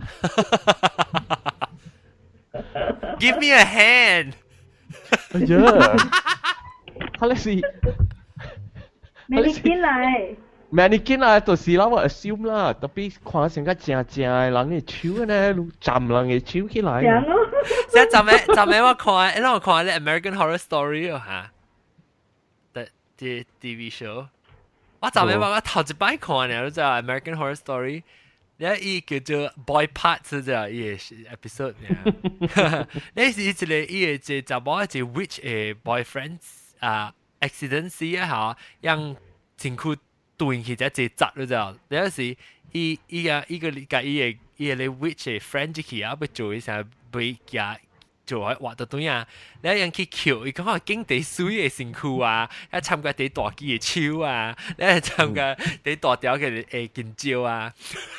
！Give me a hand。 哎呀，係你是？ Mannequin 嚟。 Mannequin 啦，就是啦，我 assume 啦，特別看成個正嘅人嘅手呢，站人嘅手起來。 正咯。 即係站咩？我看，因為我看啲 American Horror Story 嚇，啲 TV show。我站咩？我頭一擺看嘅，你知啊 American Horror Story， 你依叫做 Boy Parts 就依個 episode 呢。你是一個依個就就冇一個 witch 嘅 boyfriend accident 啊嚇，讓情況。斷起只隻窒咯就，有時依個理解依個你 which 係 friend 之期啊，要做嘅時候俾佢做喺畫到對啊，你一樣去橋，伊講話經地水嘅身軀啊，一參加地大機嘅超啊，你一參加地大條嘅見招啊，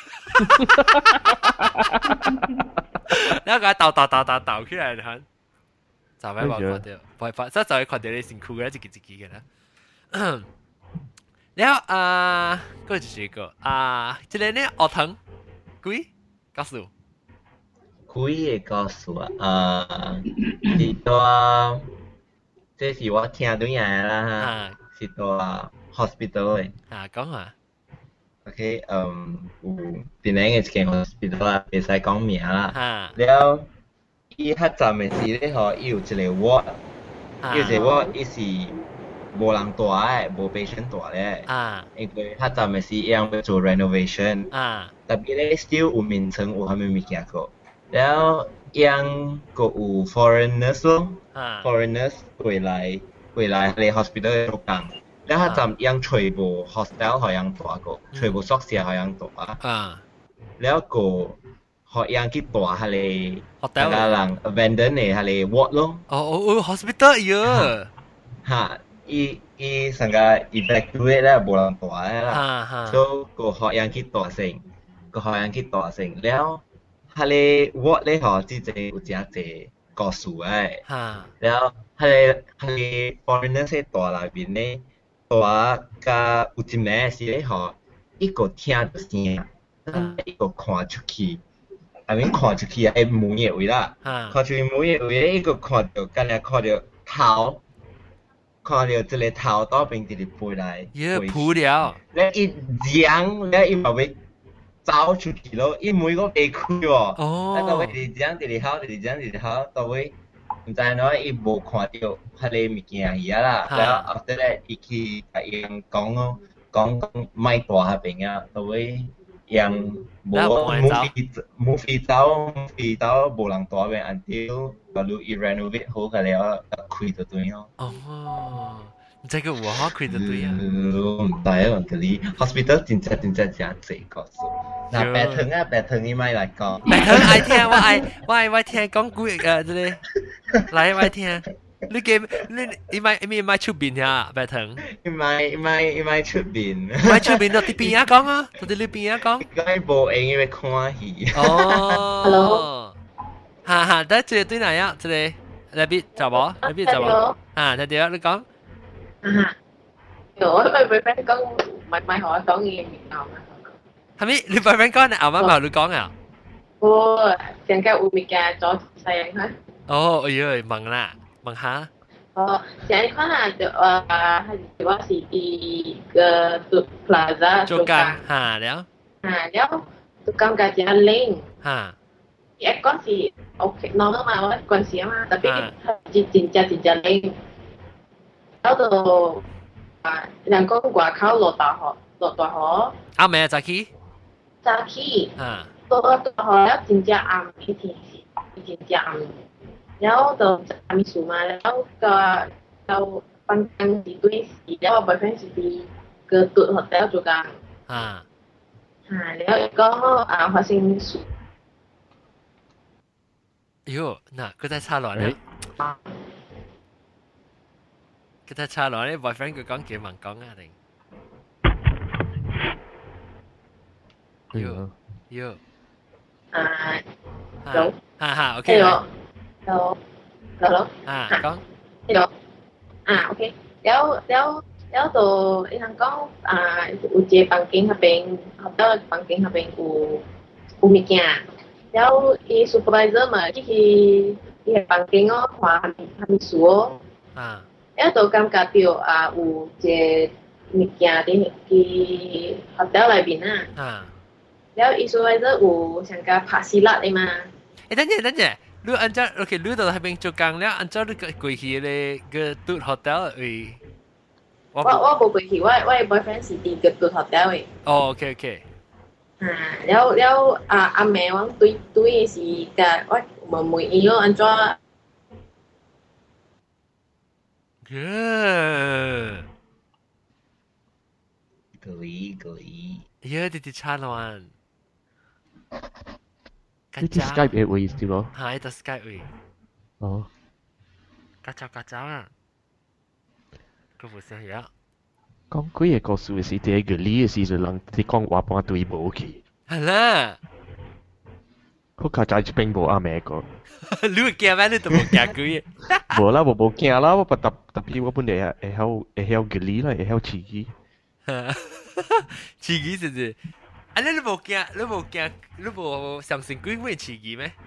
你一個鬥起來睇，就咩話看到，冇法，即就係看到你身軀嘅一支嘅啦。然後嗰個就是一個這裡呢學堂幾告訴我幾個告訴是到這是我聽到嘢啦是到 hospital 嘅講下 OK，邊兩個間 hospital 啦，唔使講名啦。了，伊較早嘅時咧，嗬，伊有一個 ward，伊有一個 ward，伊是無人住嘅，無 patient 住咧。因為較早嘅時，伊要做 renovation。特別咧 ，still 有眠床，有蝦米物件個。了，伊個有 foreigners 咯，foreigners 回來嚟 hospital 做工。แล้วถ้าจำยังช่วยบุ hostel เขายังตัวก็ช่วยบุซักเสียเขายังตัวแล้วก็เขายังคิดตัวทะเล hotel กำลัง abandon ในทะเล ward ลง hospital เยอะฮะอีสังกัด evacuate แล้วบุหลังตัวแล้วล่ะ so ก็เขายังคิดตัวเสิ่งแล้วทะเล ward เลยเขาที่จะอุจจาระก่อสูงแล้วทะเล foreigner ใช้ตัวอะไรบินเนี่ยตัวกับ有一名是咧吼，一個聽到聲，一個看出去，I mean 看出去啊，門嘅位啦，看出去門嘅位咧，一個看到，今日看到頭，看到一個頭到邊直直飛來， 撲了， 咧一揚，咧伊嘛要走出去咯，伊門個未開喎，到尾直直好，到尾。唔知喏，伊無看到迄個物件伊啊啦，然後 after that 伊去甲伊講莫大迄邊啊，到尾伊無 movie 走無人大邊 until 假如伊 renovate 好個了，開就對咯。 唔知佢有好開就對啊。 唔知啊，嗰啲 hospital 真正真濟個數。嗱，白藤伊咪嚟講。 白藤愛聽，我愛聽講古即係，嚟我愛聽。你咪出邊呀，白藤？ 伊咪出邊。 咪出邊到啲邊啊講啊，到啲你邊啊講。 佢無閒伊要看戲。 Hello。 哈，得這對哪樣？這裡那邊找冇？睇到你講。 我咪 boyfriend 講，咪學我講嘢牛嘛。 係咪？你 boyfriend 講你牛乜牛？你講啊？ 我成間有物件做細人嚇。 哎呀，問下。 成日看下就我是啲個 plaza 做工แล้วแล้ว做工嘅只零一嗰時 OK normal 嘛，我嗰時啊嘛，特別係真零。到到人講外口落大雨， 阿妹早起， 落大雨了真正暗一天是真正暗，然後就暗樹嘛，然後個房間是對是，然後 boyfriend 是啲個獨學校做工，然後講發生事， 喲，嗱佢真係差落咧。佢太差落咧 ，boyfriend 佢講幾問講啊定？喲，哈 ，OK。 hello， 講。 OK，แล้วตัวอีทางก็อุจเจปังกิ้งเขาเป็นเขาเจ้าปังกิ้งเขาเป็นอุมิเกียแล้วอีซูเปอร์ไวเซอร์มาที่อีปังกิ้งก็ขวาทำสัวแล้วตัวกำกับเดียวอุจเจมิเกียที่เขาเจ้าอะไรบินแล้วอีซูเปอร์ไวเซอร์สังกัดภาษีรัฐเลยมา等陣。你按照 OK， 你到那邊做工了，按照你個過去咧個住 hotel 位。 我冇過去，我 boyfriend 是啲個住 hotel 位。 OK。 แล้ว阿妹我對是個我冇伊個按照。 กลี呀，啲差亂。 呢啲 Skype 嘅位置咯， 係得 Skype 位。夾雜啊！佢冇聲呀。 講幾個故事是第一個理嘅時就人哋講話半對冇去。 係啦。 佢家在一邊冇阿妹個。 你會驚咩？你都冇驚佢。 冇啦，我冇驚啦，我特別我本嚟係曉個理啦，係曉刺激。 刺激是唔是？你冇相信鬼會刺激咩？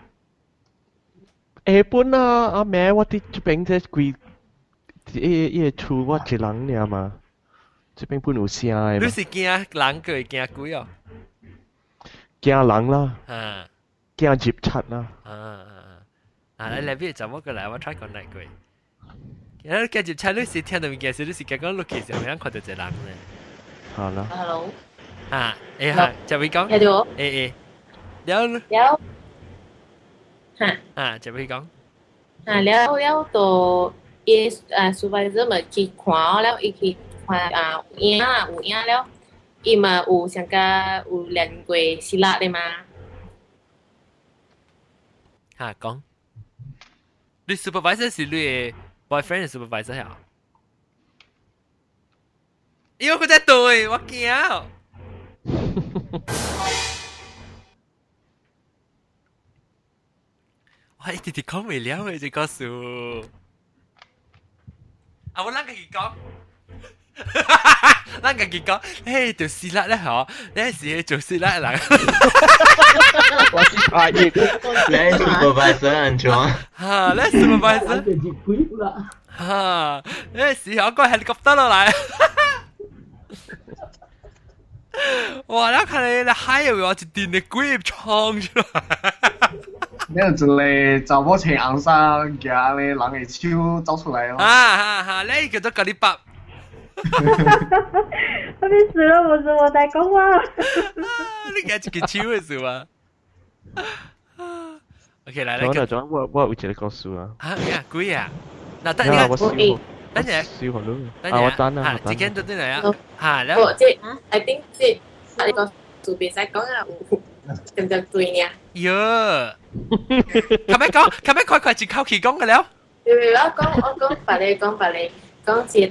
本啊，阿妹我啲邊隻鬼，伊厝我一人爾嘛。 这边本有声诶。 你是惊人佢惊鬼哦？ 驚人啦，驚接觸啦。 你嚟邊就乜過嚟？我 try 講嚟句。然後驚接觸，你是聽到物件時，你是驚講 look 時候，你看到一個人咧。 好啦。 Hello。 就會講。 聽到。 了。就會講。 了到伊supervisor 咪去看了，伊去看有影了。伊嘛有上加有練過希臘的嘛？ 講，你 supervisor 是你嘅 boyfriend 嘅 supervisor 啊？喲，佢真對，我驚。我一直講未了嘅，這個數。我啷個去講？咱家己講，做希臘咧嗬，你是做希臘人。 我是阿爺， 你係 supervisor 安怎？ 你係 supervisor。你是我個 helicopter 落嚟。哇！你睇你海入面我一電嘅鬼衝出來。 你有一個查某穿紅衫，夾咧人嘅手走出來咯。 你叫做咖喱白。 我被死了，不是我在讲话。 你家一個手嘅是嗎 ？OK， 來， 我有一個故事啊。 鬼啊！嗱，等陣， 我等啊， 之間到啲嚟啊， แล้ว即I think 即你個做比賽講啊，點點對呢？ 喲，咁樣快接口氣講嘅了。 我講白你講接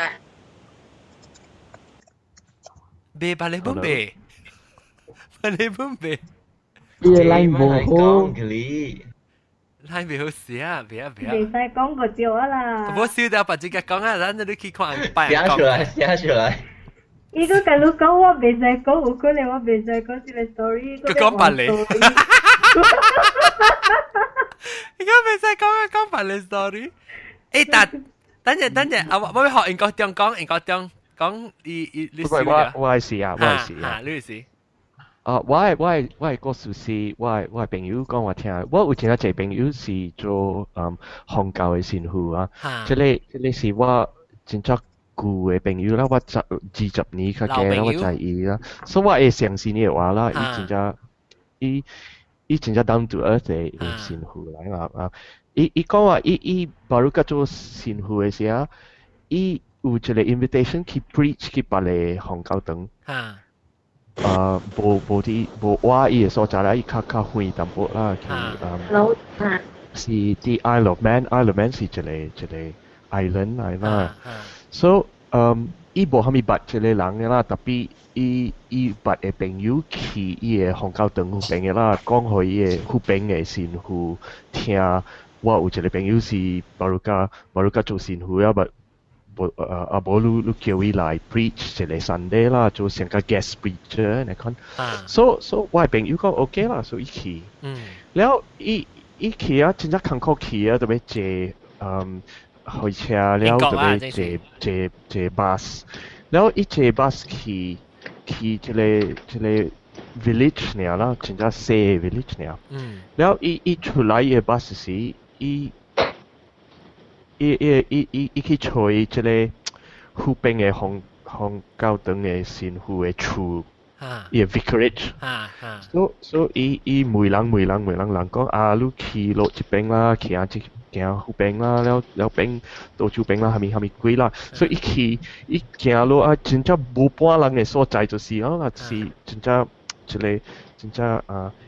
別白你本別，白你本別。 嘢拉唔好， 拉唔好事啊！別啊！ 未使講個照啊啦。 我笑到把自己講啊，咱你去看白。寫出來。 伊個假如講我未使講，有可能我未使講這個 story。 佢講白你。伊個未使講白你 story。等陣，我要學英國中講你我係試啊， 你試。 我係個事是，我係朋友講我聽，我有聽一個朋友是做宗教嘅神父啊，即係是我真正舊嘅朋友啦，我20年較嘅啦，我知伊啦，所以我會相信伊嘅話啦，伊真正 down to earth 嘅神父嚟啊，伊講話伊巴魯甲做神父嘅時候，伊有一個 invitation 去 preach 去別個宗教堂。無話伊個所在啦，伊較遠淡薄啦，是啲 Isle of Man 是一個 island 嚟啦，所以伊無蝦米捌一個人嘅啦，特別伊捌嘅朋友去伊個宗教堂附近嘅啦，講互伊個附近嘅神父聽，我有一個朋友是巴魯甲做神父啊，無你叫伊來 preach 一個 Sunday 啦，做成個 guest preacher 嚟講，所以我係朋友講 OK 啦，所以伊去，然後伊去啊，真正艱苦去啊，特別坐開車，然後特別坐 bus， 然後伊坐 bus 去一個 village 呢啦，真正細 village 呢，然後伊出來伊個 bus 時，伊去找伊即個附近嘅宗教堂嘅神父嘅厝，伊個 vicarage，所以伊每人講啊，你去落一邊啦，行附近啦，了邊到處邊啦，係咪貴啦？所以伊行落啊，真正無半人嘅所在就是啦，是真正一個真正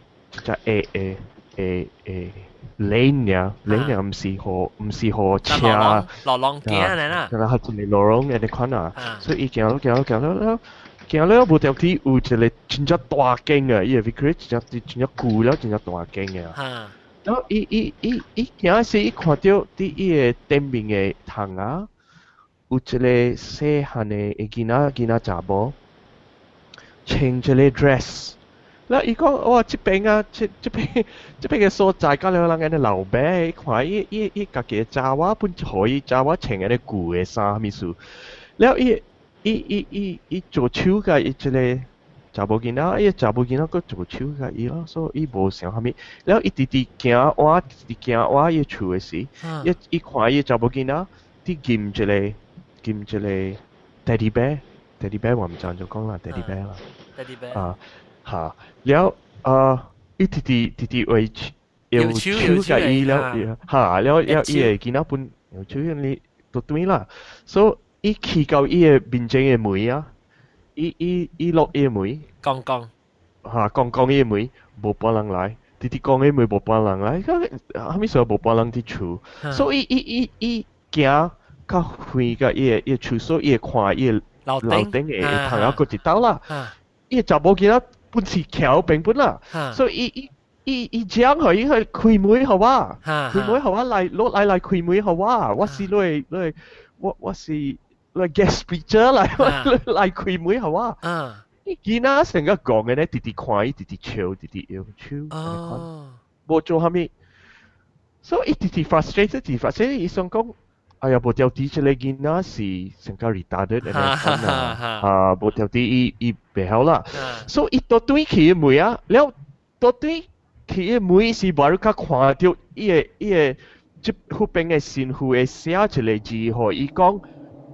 lane 呀，唔是好車， 落浪鏡嚟啦， 係一個落浪嘅款啊，所以伊行了無條件有一個真正大間嘅，伊個 vicarage 真正舊了，真正大間嘅。然後伊行時，伊看到佇伊個頂面嘅窗啊，有一個細漢嘅囡仔查某，穿一個 dress。嗱，伊講哇，這邊啊，這邊嘅所在，甲兩人嘅老闆，看伊家己嘅查某本互伊查某穿嘅舊嘅衫，咪數，然後伊伊做手甲伊即个查某囡仔，伊查某囡仔佫做手甲伊咯，所以伊无想啥物。然后伊直直行我，直直行我伊厝诶时，伊看伊查某囡仔，啲金一个 teddy bear 我唔知就講啦 teddy bear 啦 ，teddy bear 啊嚇，然後伊直直為用手甲伊了嚇，了伊會見到本用手你都對啦，所以伊去到伊嘅面前嘅門啊，伊落伊嘅門， 講嚇講伊嘅門無半人來，直直講伊門無半人來，後尾所無半人佇厝，所以伊行較遠個伊嘅厝，所以伊會看伊嘅樓頂嘅朋友嗰一兜啦，伊嘅查某囡仔本是橋邊本啦，所以伊講佢伊去開門好啊，開門好啊，來開門好啊，我是我是guest speaker 來開門好啊，伊囡仔成個講嘅咧，直直看伊直直笑，直直搖手，無做啥物，所以伊直直 frustrated，伊想講。哎呀，無條啲即個囡仔是成個 retarded 嘅啊，無條啲伊袂曉啦，所以伊到對佢嘅妹啊，了到對佢嘅妹是無較看到伊個即後邊嘅神父會寫一個字，互伊講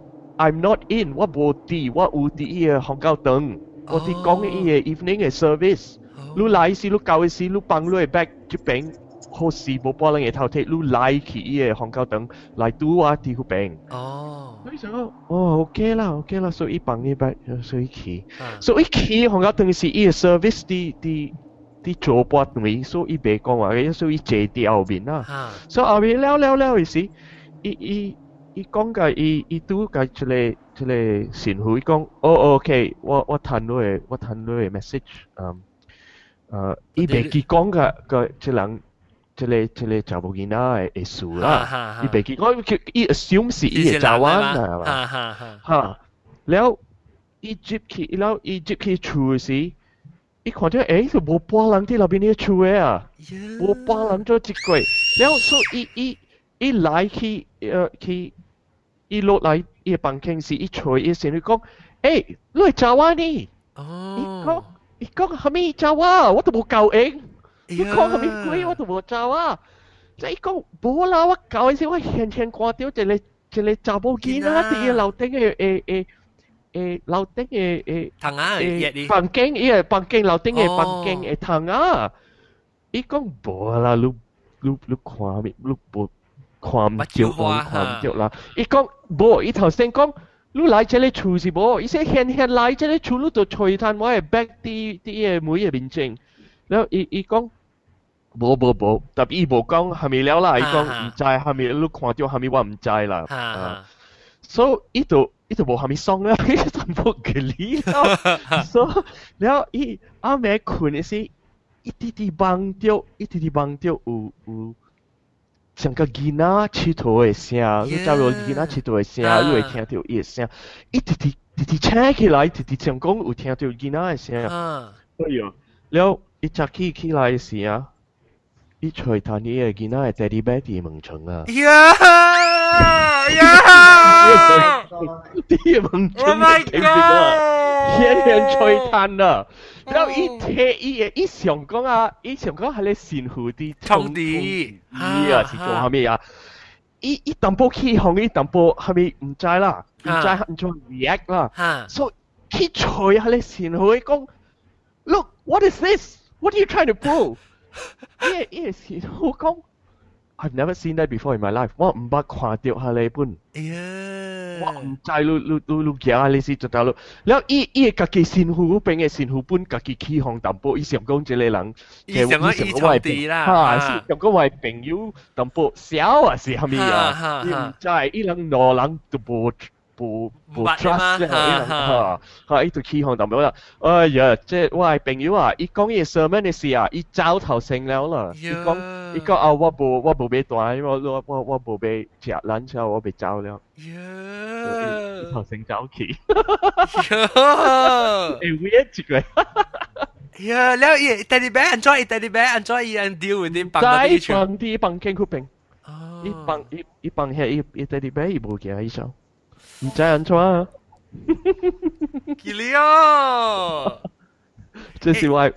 I'm not in， 我無佇，我有佇伊個香港堂，我佇講伊個 evening 嘅 service，你來時你教嘅時你幫你嘅 back 即邊。好事無幫人嘅頭鐵，你來去伊個香港堂來拄我佇嗰邊。所以就OK 啦，所以伊幫你擺，所以去，所以去香港堂是伊個 service 啲做半段，所以伊袂講話嘅，所以伊坐佇後面啦。所以後面了嘅時，伊講嘅伊拄嘅一個神父，伊講OK，我聽到嘅 message，伊袂記講嘅即人。即個查某囡仔嘅事啦，伊袂記，我伊 assume 是伊嘅查灣啦，嚇，了伊接去厝嘅時，伊看到就無半人佇內邊嘅厝嘅啊，無半人做一個，了所以伊來去伊落來伊嘅房間時，伊坐伊先去講，你係查灣呢？伊講係咪查灣？我都冇教應。你講係咪鬼？我都冇做啊！即係講冇啦，我搞嗰時我輕輕看到一個查某囡仔喺樓頂嘅樓頂嘅房間，伊個房間樓頂嘅房間嘅窗啊！伊講冇啦，你看咪，你冇看唔着啦！伊講冇，伊頭先講你來這裡厝是冇，伊說輕來這裡厝，你就隨攤我係 back 啲嘅每個面前。然後伊講無，但伊無講係咪了啦？伊講唔知係咪你看到係咪我唔知啦。所以伊就無係咪爽啦，伊就冇佢理啦。所以然後伊阿妹困嘅時，伊直直望到有像個囡仔佚佗嘅聲，你假如囡仔佚佗嘅聲，你會聽到伊嘅聲，伊直直醒起來，直直像講有聽到囡仔嘅聲。哎呀，了。伊早起來時啊，伊吹彈伊個囡仔係 teddy bear 佇門床啊！佇門床嘅景啊，顯吹彈啊！然後伊想講啊，伊想講係咧神父啲衝啲啊，是做啥物啊？伊淡薄起哄，伊淡薄係咪唔知啦？唔知唔做 react 啦，所以佢吹係咧神父講 ，Look what is this？What are you trying to prove? Yes, 我講 I've never seen that before in my life. 我唔捌看到下你本。我唔知你行你是做到咯。然後伊家己神父嗰邊嘅神父本家己起哄淡薄，伊想講這個人， 伊想講伊衝啲啦， 想講我係朋友淡薄小啊是係咪啊？伊唔知，伊人兩人都無 trust 咧，伊就起哄淡薄啦。哎呀，即係我係朋友啊！伊講伊 sermon 嘅事啊，伊走頭成了啦。伊講啊，我無俾帶，我無俾食 lunch， 我俾走了。伊頭成走去。weird 一個。 แล้วอี teddy bear enjoy teddy bear enjoy อี deal with 啲房間嗰邊。伊幫下伊 teddy bear 伊無驚伊想。唔知安怎啊？ 吉利哦， 这是我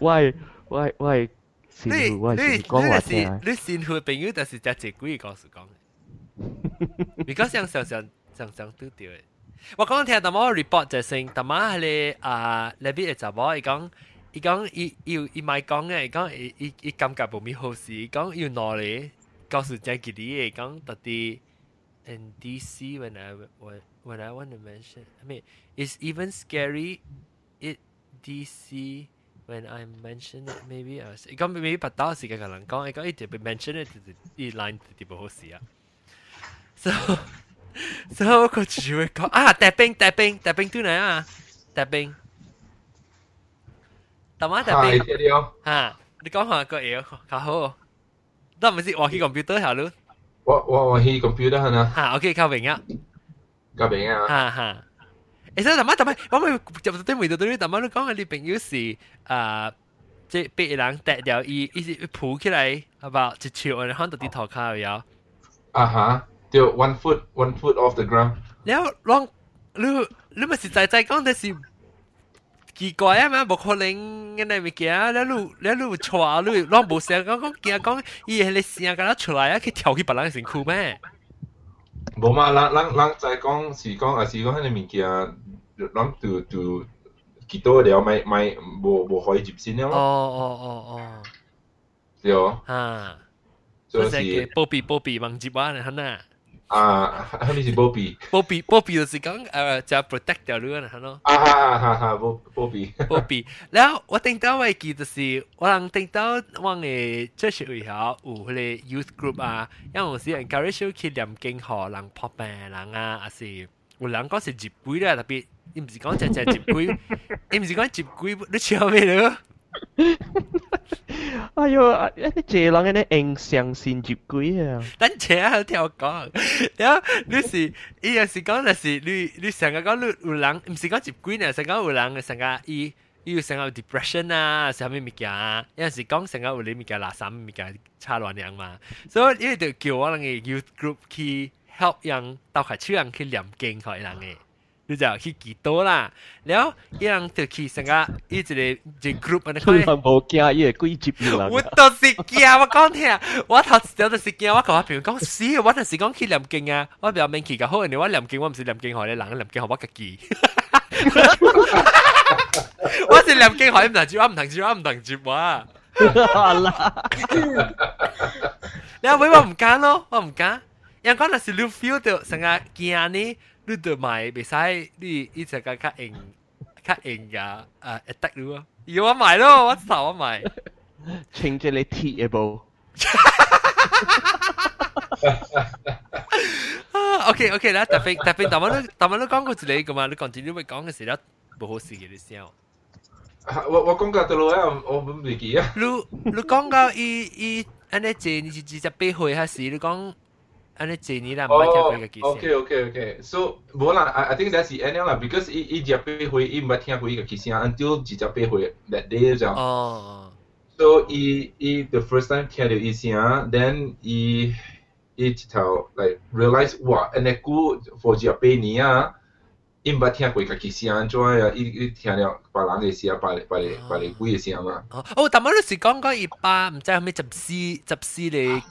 先我先讲话听。 你先去朋友，但是只只鬼告诉讲嘅，你讲常都对嘅。我講聽大媽 report 就係大媽係你邊嘅查某，伊講伊咪講嘅，伊感覺冇咩好事，講要攞嚟告訴隻佢哋，講到底 in DC when I want to mention, I mean it's even scary in DC when I mention it maybe 伊講 maybe 不到時間嘅人講，伊講一直被 mention 嘅，啲 line 啲冇好事啊 ，so 我就會講帶兵對嚟啊，帶兵，大媽帶兵嚇，你講下個嘢較好，都唔是話去 computer 下咯， 我去 computer 係啊， 嚇 OK 較明啊，嚇，所以大媽，我咪入到啲味道對大媽都講嘅，你朋友是即係被人帶掉，伊抱起來，係吧？一朝我哋看到啲頭殼有， 就 one foot off the ground。 แล้วลอง你咪實在講的是奇怪啊嘛，冇可能嘅那物件，แล้ว你錯，你攏冇聲講驚講，伊係你聲咁出來啊，佢跳去別人身軀咩？ 冇嘛，人在講是講，還是講迄個物件，人就幾多了，咪冇可以接線了咯。 哦， 對就是波比忘接話你睇啊。 係咪是波比就是講就 protect 掉你啊，係咯。波比，然後我聽到嘅記就是我能聽到我嘅即係會考有嗰個 youth group 啊，因為有時 encourage 去念經學人撲病人啊，還是有人講是接鬼啦，特別你唔是講隻接鬼，你唔是講接鬼，你笑咩咯？ 哎呦，你這人嘅印象先接鬼啊！ 等陣啊，聽我講，然後你是伊有時講就是你成日講你有人，唔是講接鬼呢，成日講有人成日伊有成日有 depression 啊，是咩物件啊？有陣時講成日有你物件垃圾物件差亂樣嘛，所以伊就叫我人嘅 youth group 去 help 人鬥下手人去念經佢人嘅。你就去幾多啦，然後一人就去成個一個 group 啊，你看。冇驚，伊會鬼接你啦。 我就是驚，我講聽，我頭先就是驚，我同我朋友講，是，我就是講去念經啊，我表面去較好，人哋我念經，我唔是念經學你，人念經學我自己。我是念經學你唔同接，我唔同接話。然後我唔敢咯，我唔敢，因為嗰陣時你 feel 到成個驚呢。你就買袂使，你一直較硬噶attack 你啊！要我買咯，我頭我買。 穿隻你鐵嘅布。 OK 啦，特別大媽都講過一個噶嘛，你continue咪講嘅時候，冇好事嘅你先。 我講到到啦，我唔記啊。 你講到伊安尼借你28歲還是你講？ Okay. So, 冇啦 I think that's the end 啦 because 伊18歲伊唔捌聽過伊個聲 until 18歲 that day 就。So 伊 the first time 聽到伊聲 then 伊一頭 like realize 哇，安尼久 for 18年啊，伊唔捌聽過伊個聲，怎啊？伊聽了別人嘅聲，別嚟鬼嘅聲嘛。 但係你是講伊爸唔知係咪14嚟？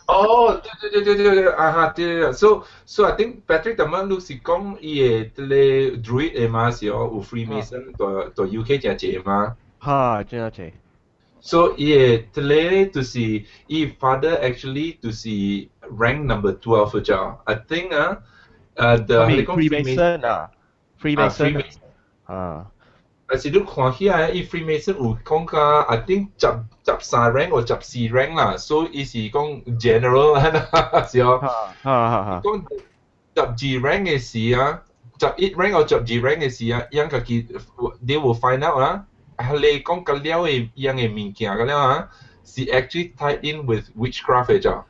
對。So I think Patrick 但係你是講伊嘅啲 druid 嘅嘛，是有 Freemason 在 UK 真濟嘛。 嚇，真係。 So 伊嘅啲就是伊 father actually 就是 rank number 12咗 I think the Freemason 啊。Freemason 但是你看起來，伊 Freemason 有講個 I think 13 rank 或14 rank 啦，所以伊是講 general 啦，是哦。講12 rank 嘅事啊，11 rank 或12 rank 嘅事啊，樣個佢 they will find out 啦。係你講個了嘅樣嘅物件個了啊，是 actually tied in with witchcraft 嘅啫。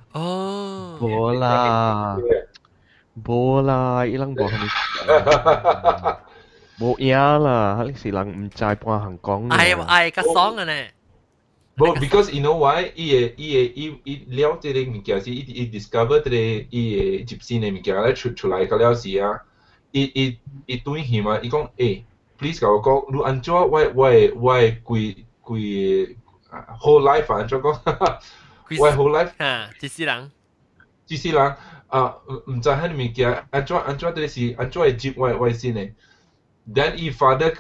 冇啦，伊人無冇影啦，你是人唔知半行講。 係個爽嘅呢。 But because you know why，伊了這個物件是伊 discover 這個伊嘅集線嘅物件咧出來個了時啊， 伊對佢嘛，伊講誒 ，please 甲我講，你安怎我規 whole life 安怎講？我 whole life 一世人啊，唔知喺物件安怎對是安怎會接我先呢 ？Then 伊 father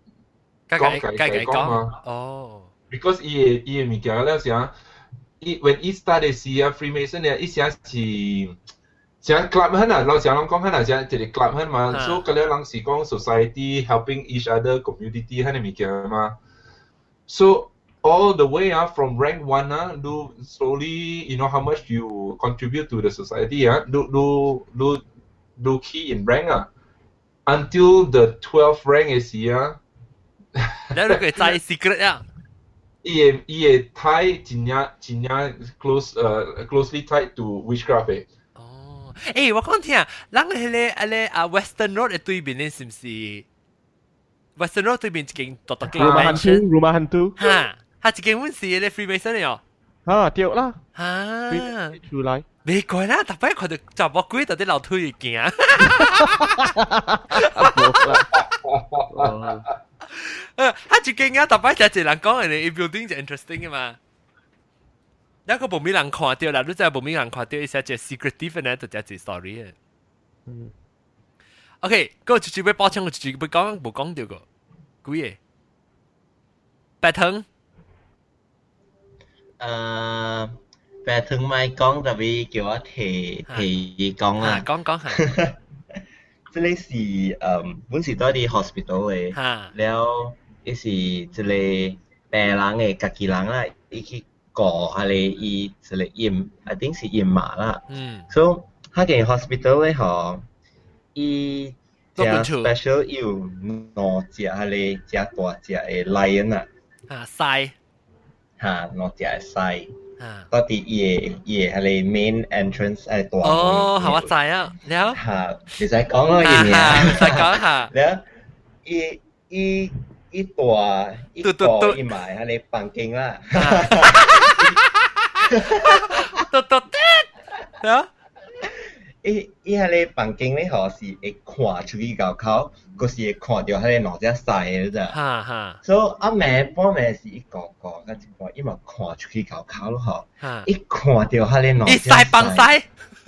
講嘛， 哦 ，because 伊物件了啥？when 伊 started 時啊 Freemason 咧，伊成是。像 club ਹਨ啊，老實人講係像一個 club ਹਨ嘛，所以嗰啲人是講 society helping each other community 係咪嘅嘛？ So all the way from rank 1 do slowly you know how much you contribute to the society do key in rank until the 12th rank is here แล้ว你個在 secret 啊？ 伊tie 真正 closely tied to witchcraft 誒，我講聽，咱迄個Western Road 對面咧，是唔是 Western Road 對面一間獨間 Rumah Hantu， 嚇，一間阮是咧 Freemason 嚟哦。 啊，對啦。 嚇， 出來。 袂怪啦，逐擺看到查某鬼到啲樓梯行。一間啊，逐擺就一人講嘅，伊 building 就 interesting 嘅嘛。那個無咩人看到啦，你知無咩人看到，伊寫只 secretive 呢，就只 story 嘅。OK， 嗰個直接要補充，我直接要講冇講到個，幾個？白藤。 白藤咪講，特別叫我提講啦。 講下。 即係是本時多啲 hospital 嘅，然後伊是即係病人嘅家己人啦，伊去。過下你伊一個驗 ，I think 是驗麻啦。所以嗰間 hospital 咧，嗬，伊只 special 有兩隻下你只大隻嘅 lion 啊。 獅。 嚇，兩隻嘅獅。到底伊下你 main entrance 係大。 哦，係我知啊，了。 嚇，你使講咯，嘢嘢。 使講下。 了，伊大伊埋喺你房間啦。伊喺你房間咧，何時會看出去高口，嗰時會看到喺你兩隻細嘅咋。所以阿妹半暝是一個，跟住講伊咪看出去高口咯，嗬。伊看到喺你兩隻細。 伊細幫細。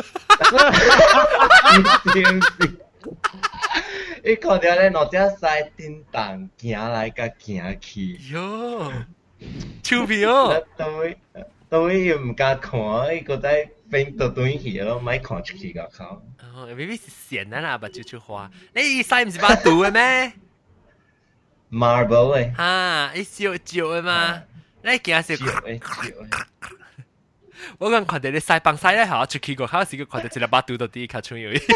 伊看到咧，兩隻細叮當行來甲行去。 喲，超皮哦！ 到伊又唔敢看，伊覺得變到轉去咯，咪看出去個口。 哦 ，maybe 是線啦，把就花。你細唔是把賭嘅咩 ？Marble 嘅。 嚇，伊燒嘅嘛？你驚是？我講看到你細幫細咧，嚇出去個口時，佢看到一粒把賭到啲卡出去。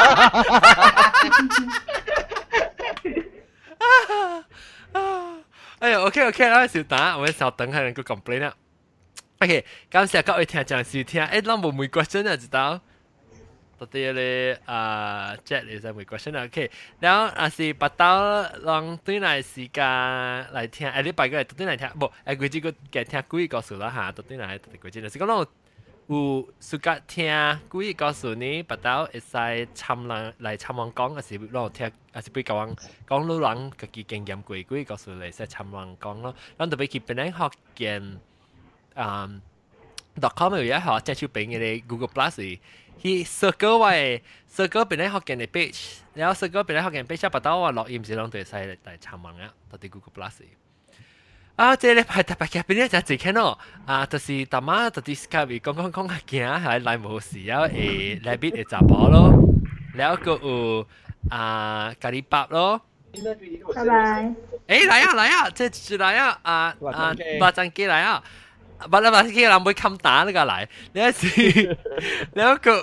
哎呀 ，OK， 啦，稍等，我哋稍等下人個 complain 啦。OK， 感謝各位聽眾收聽。誒，咱無每 question 啊，知道？到底咧Jet 你就每 question 啊 ，OK。然後啊是把刀讓對來時間來聽，誒，你拜個嚟對來聽，無誒，佢只個嘅聽故事告訴啦嚇，對來對佢只就是講咱有暑假聽故事告訴你，把刀會使參人來參人講，還是讓聽，還是俾教人講老人自己經驗過故事告訴你，使參人講咯。咱特別去邊咧學見。.com 有一項即係出邊嘅 Google Plus，佢 circle 位 circle 邊咧學嘅 page，然後 circle 邊咧學嘅 page，不到話錄音時兩對細嚟參問啊，到啲 Google Plus。啊，即係咧係特別嘅邊咧就係睇咯，就是大媽就啲 Skype 講下驚係來無事啊，誒來邊嘅雜包咯，然後個有咖喱包咯。 拜拜。 誒來啊，即係來啊，八張機來啊！把你嘅人會冚打呢個嚟，你一時，你一個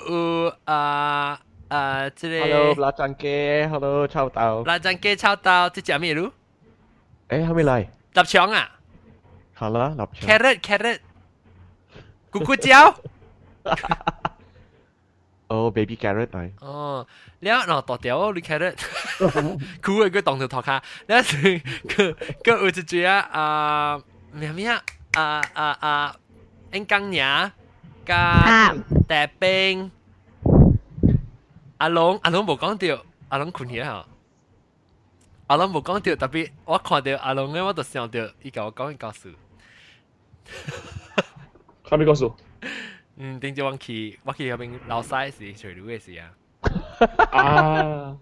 即係。 Hello， 辣醬雞 ，Hello， 臭豆。 辣醬雞臭豆，即係咩路？ 誒，係咪嚟？ 臘腸啊？ 係啦，臘腸。 carrot，咕咕椒。 哦 ，baby carrot 嚟。 哦，你啊，嗱，大條你 carrot， 酷嘅佢當條頭卡，你一時佢有一隻啊，咩啊？鵪鶉加大兵，阿龍冇講到， 阿龍困起啊！阿龍冇講到，特別我看到阿龍咧，我就想到伊甲我講一故事。 啥物故事？ 頂住我去嗰邊老西時，除了嘅時啊。 啊。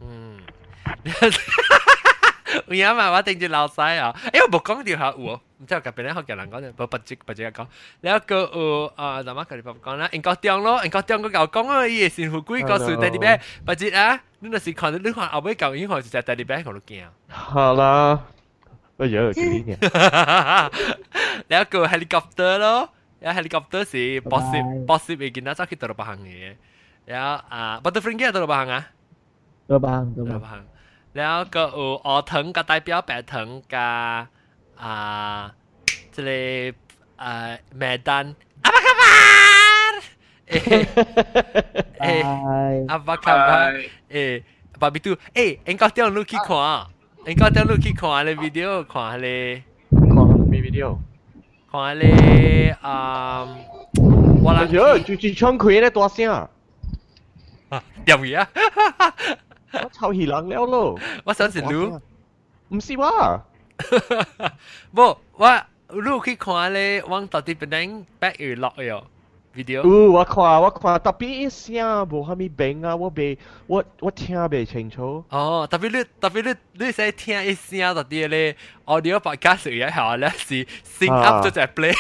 有影嘛，我頂住老西啊！我冇講到下有，唔知我隔壁咧學嘅人講就不直講，แล้วก็怎麼佢哋講啦？英國中咯，英國中個舊講啊，伊係善富貴個樹第啲咩？不直啊！你那時看到你看後尾舊英學就係第啲咩？我都驚。 好啦，我有幾年。 แล้วก็ helicopter 咯，有 helicopter 是 possible 嘅見到走去到北行嘅，แล้วbutterfly 嘅到北行啊？ 到北行。 แล้วก็อ藤กับ代表白藤กับ即係梅丹阿巴卡巴阿巴卡巴巴比杜應該點錄去看？應該點錄去看咧 video 看咧？ 看咩 video？ 看咧我諗住唱佢咧大聲啊！ 點嘢啊？ 我臭氣人了咯！ 我想是你， 唔是我。 不，我去看咧，往到底邊back 去落嘅 video。 我看，特別一聲無蝦米病啊！我聽未清楚。 哦，特別你使聽一聲到底咧 audio podcast 一下咧是 sync up 咗隻 play。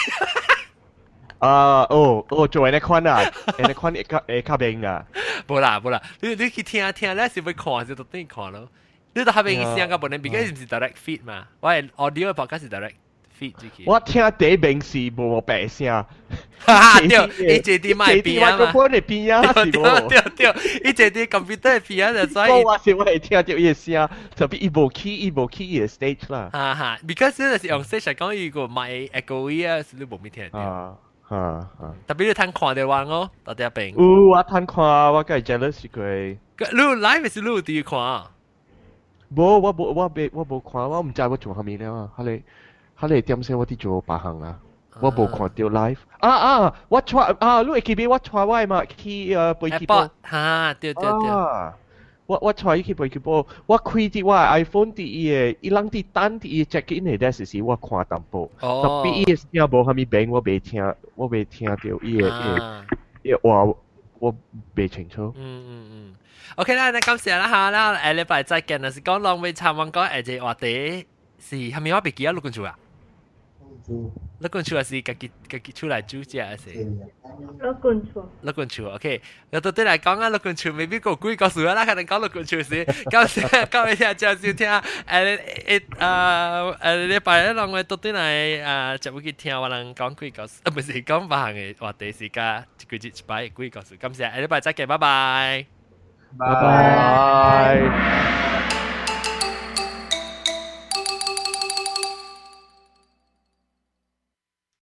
做那款啊，那款會較病啊。 無啦，你去聽咧是會看就到底看咯。你都係咪意思個本來because 唔是 direct feed 嘛？我係 audio podcast 是 direct feed 住去。 我聽第一名是無白聲。 對，一啲咪變啊嘛。 麥克風嚟變啊，是無？ 對，一啲 computer 變啊，所以。 我係聽到伊聲，特別伊無起嘅 stage 啦。 because 你是用 stage 嚟講，如果買 echo 啊，你無咩聽到。特別你睇看到話我到底病。 我睇看，我梗係 jealous 佢。 你 live 是你點看啊？ 冇，我冇看，我唔知我做下面了啊。佢哋點先我啲做白行啊？我冇看到 live。我 try 你會記唔記我 try 我嘛去背機波？ 對。 我 try 去背機波，我開啲我 iPhone 啲嘢，伊啷啲單啲 check in 嚟嗰時我看淡薄。特別伊嘅聲無蝦米病，我未聽到伊嘅話，我未清楚。 OK 啦，那感謝啦嚇，啦下禮拜再見啦，是講浪尾參問講誒隻話題是係咪我別記啊？錄緊住啊？錄緊住係是自己出來煮隻係是？錄緊住 OK。有到底嚟講啊，錄緊住未必個鬼個數啦，可能講錄緊住是。感謝各位聽眾收聽禮拜咧浪尾到底嚟就會去聽我哋講鬼個數，唔係講白行嘅話題是加一句一擺鬼個數。感謝禮拜再見，拜拜。 拜拜。